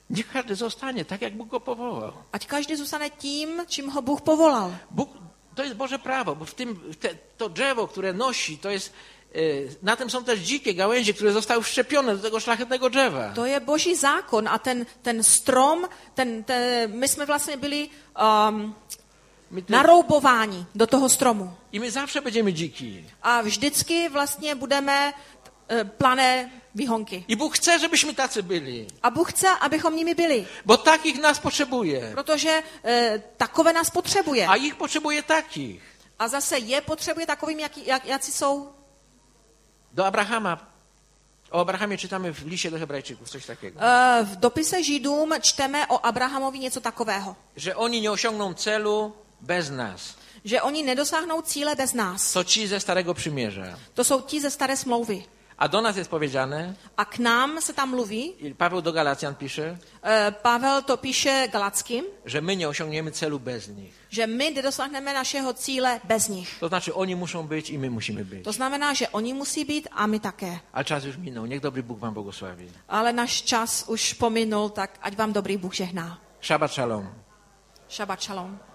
[SPEAKER 2] Niech każdy zostanie tak, jak Bóg go powołał.
[SPEAKER 3] Ať každý zůstane tím, čím ho Bůh povolal.
[SPEAKER 2] Bóg, to jest Boże prawo, bo to drzewo, które nosi, to jest, na tym są też dzikie gałęzie, które zostały wszczepione do tego szlachetnego drzewa.
[SPEAKER 3] To je Boží zákon a ten strom, my jsme vlastně byli naroubováni do toho stromu.
[SPEAKER 2] I my zawsze będziemy dziki.
[SPEAKER 3] A vždycky vlastně budeme plané výhonky.
[SPEAKER 2] I Bóg chce, żebyśmy tacy byli.
[SPEAKER 3] A Bůh chce, abychom nimi byli.
[SPEAKER 2] Bo takich nas potrzebuje.
[SPEAKER 3] Protože takové nás potřebuje.
[SPEAKER 2] A ich potrzebuje takich.
[SPEAKER 3] A zase je potřebuje takovým, jací jsou.
[SPEAKER 2] Do Abrahama. O Abrahamie czytamy w liście do Hebrajczyków coś takiego.
[SPEAKER 3] V dopise Židům čteme o Abrahamovi něco takového.
[SPEAKER 2] Że oni nie osiągną celu bez nas.
[SPEAKER 3] Že oni nedosáhnou cíle bez nás.
[SPEAKER 2] To ci ze Starego Przymierza.
[SPEAKER 3] To jsou ti ze staré smlouvy.
[SPEAKER 2] A do nas jest powiedziane,
[SPEAKER 3] A k nám se tam mluví,
[SPEAKER 2] i Paweł do Galacjan pisze,
[SPEAKER 3] Pavel to píše Galackým,
[SPEAKER 2] że my nie osiągniemy celu bez nich.
[SPEAKER 3] že my nedosáhneme našeho cíle bez nich.
[SPEAKER 2] To znaczy oni muszą być i my musimy być.
[SPEAKER 3] To znamená, že oni musí být a my také.
[SPEAKER 2] Ale czas już minął. Niech dobry Bóg wam błogosławi.
[SPEAKER 3] Ale náš čas už pominul, tak ať vám dobrý Bůh žehná.
[SPEAKER 2] Shabbat shalom.
[SPEAKER 3] Šabat šalom.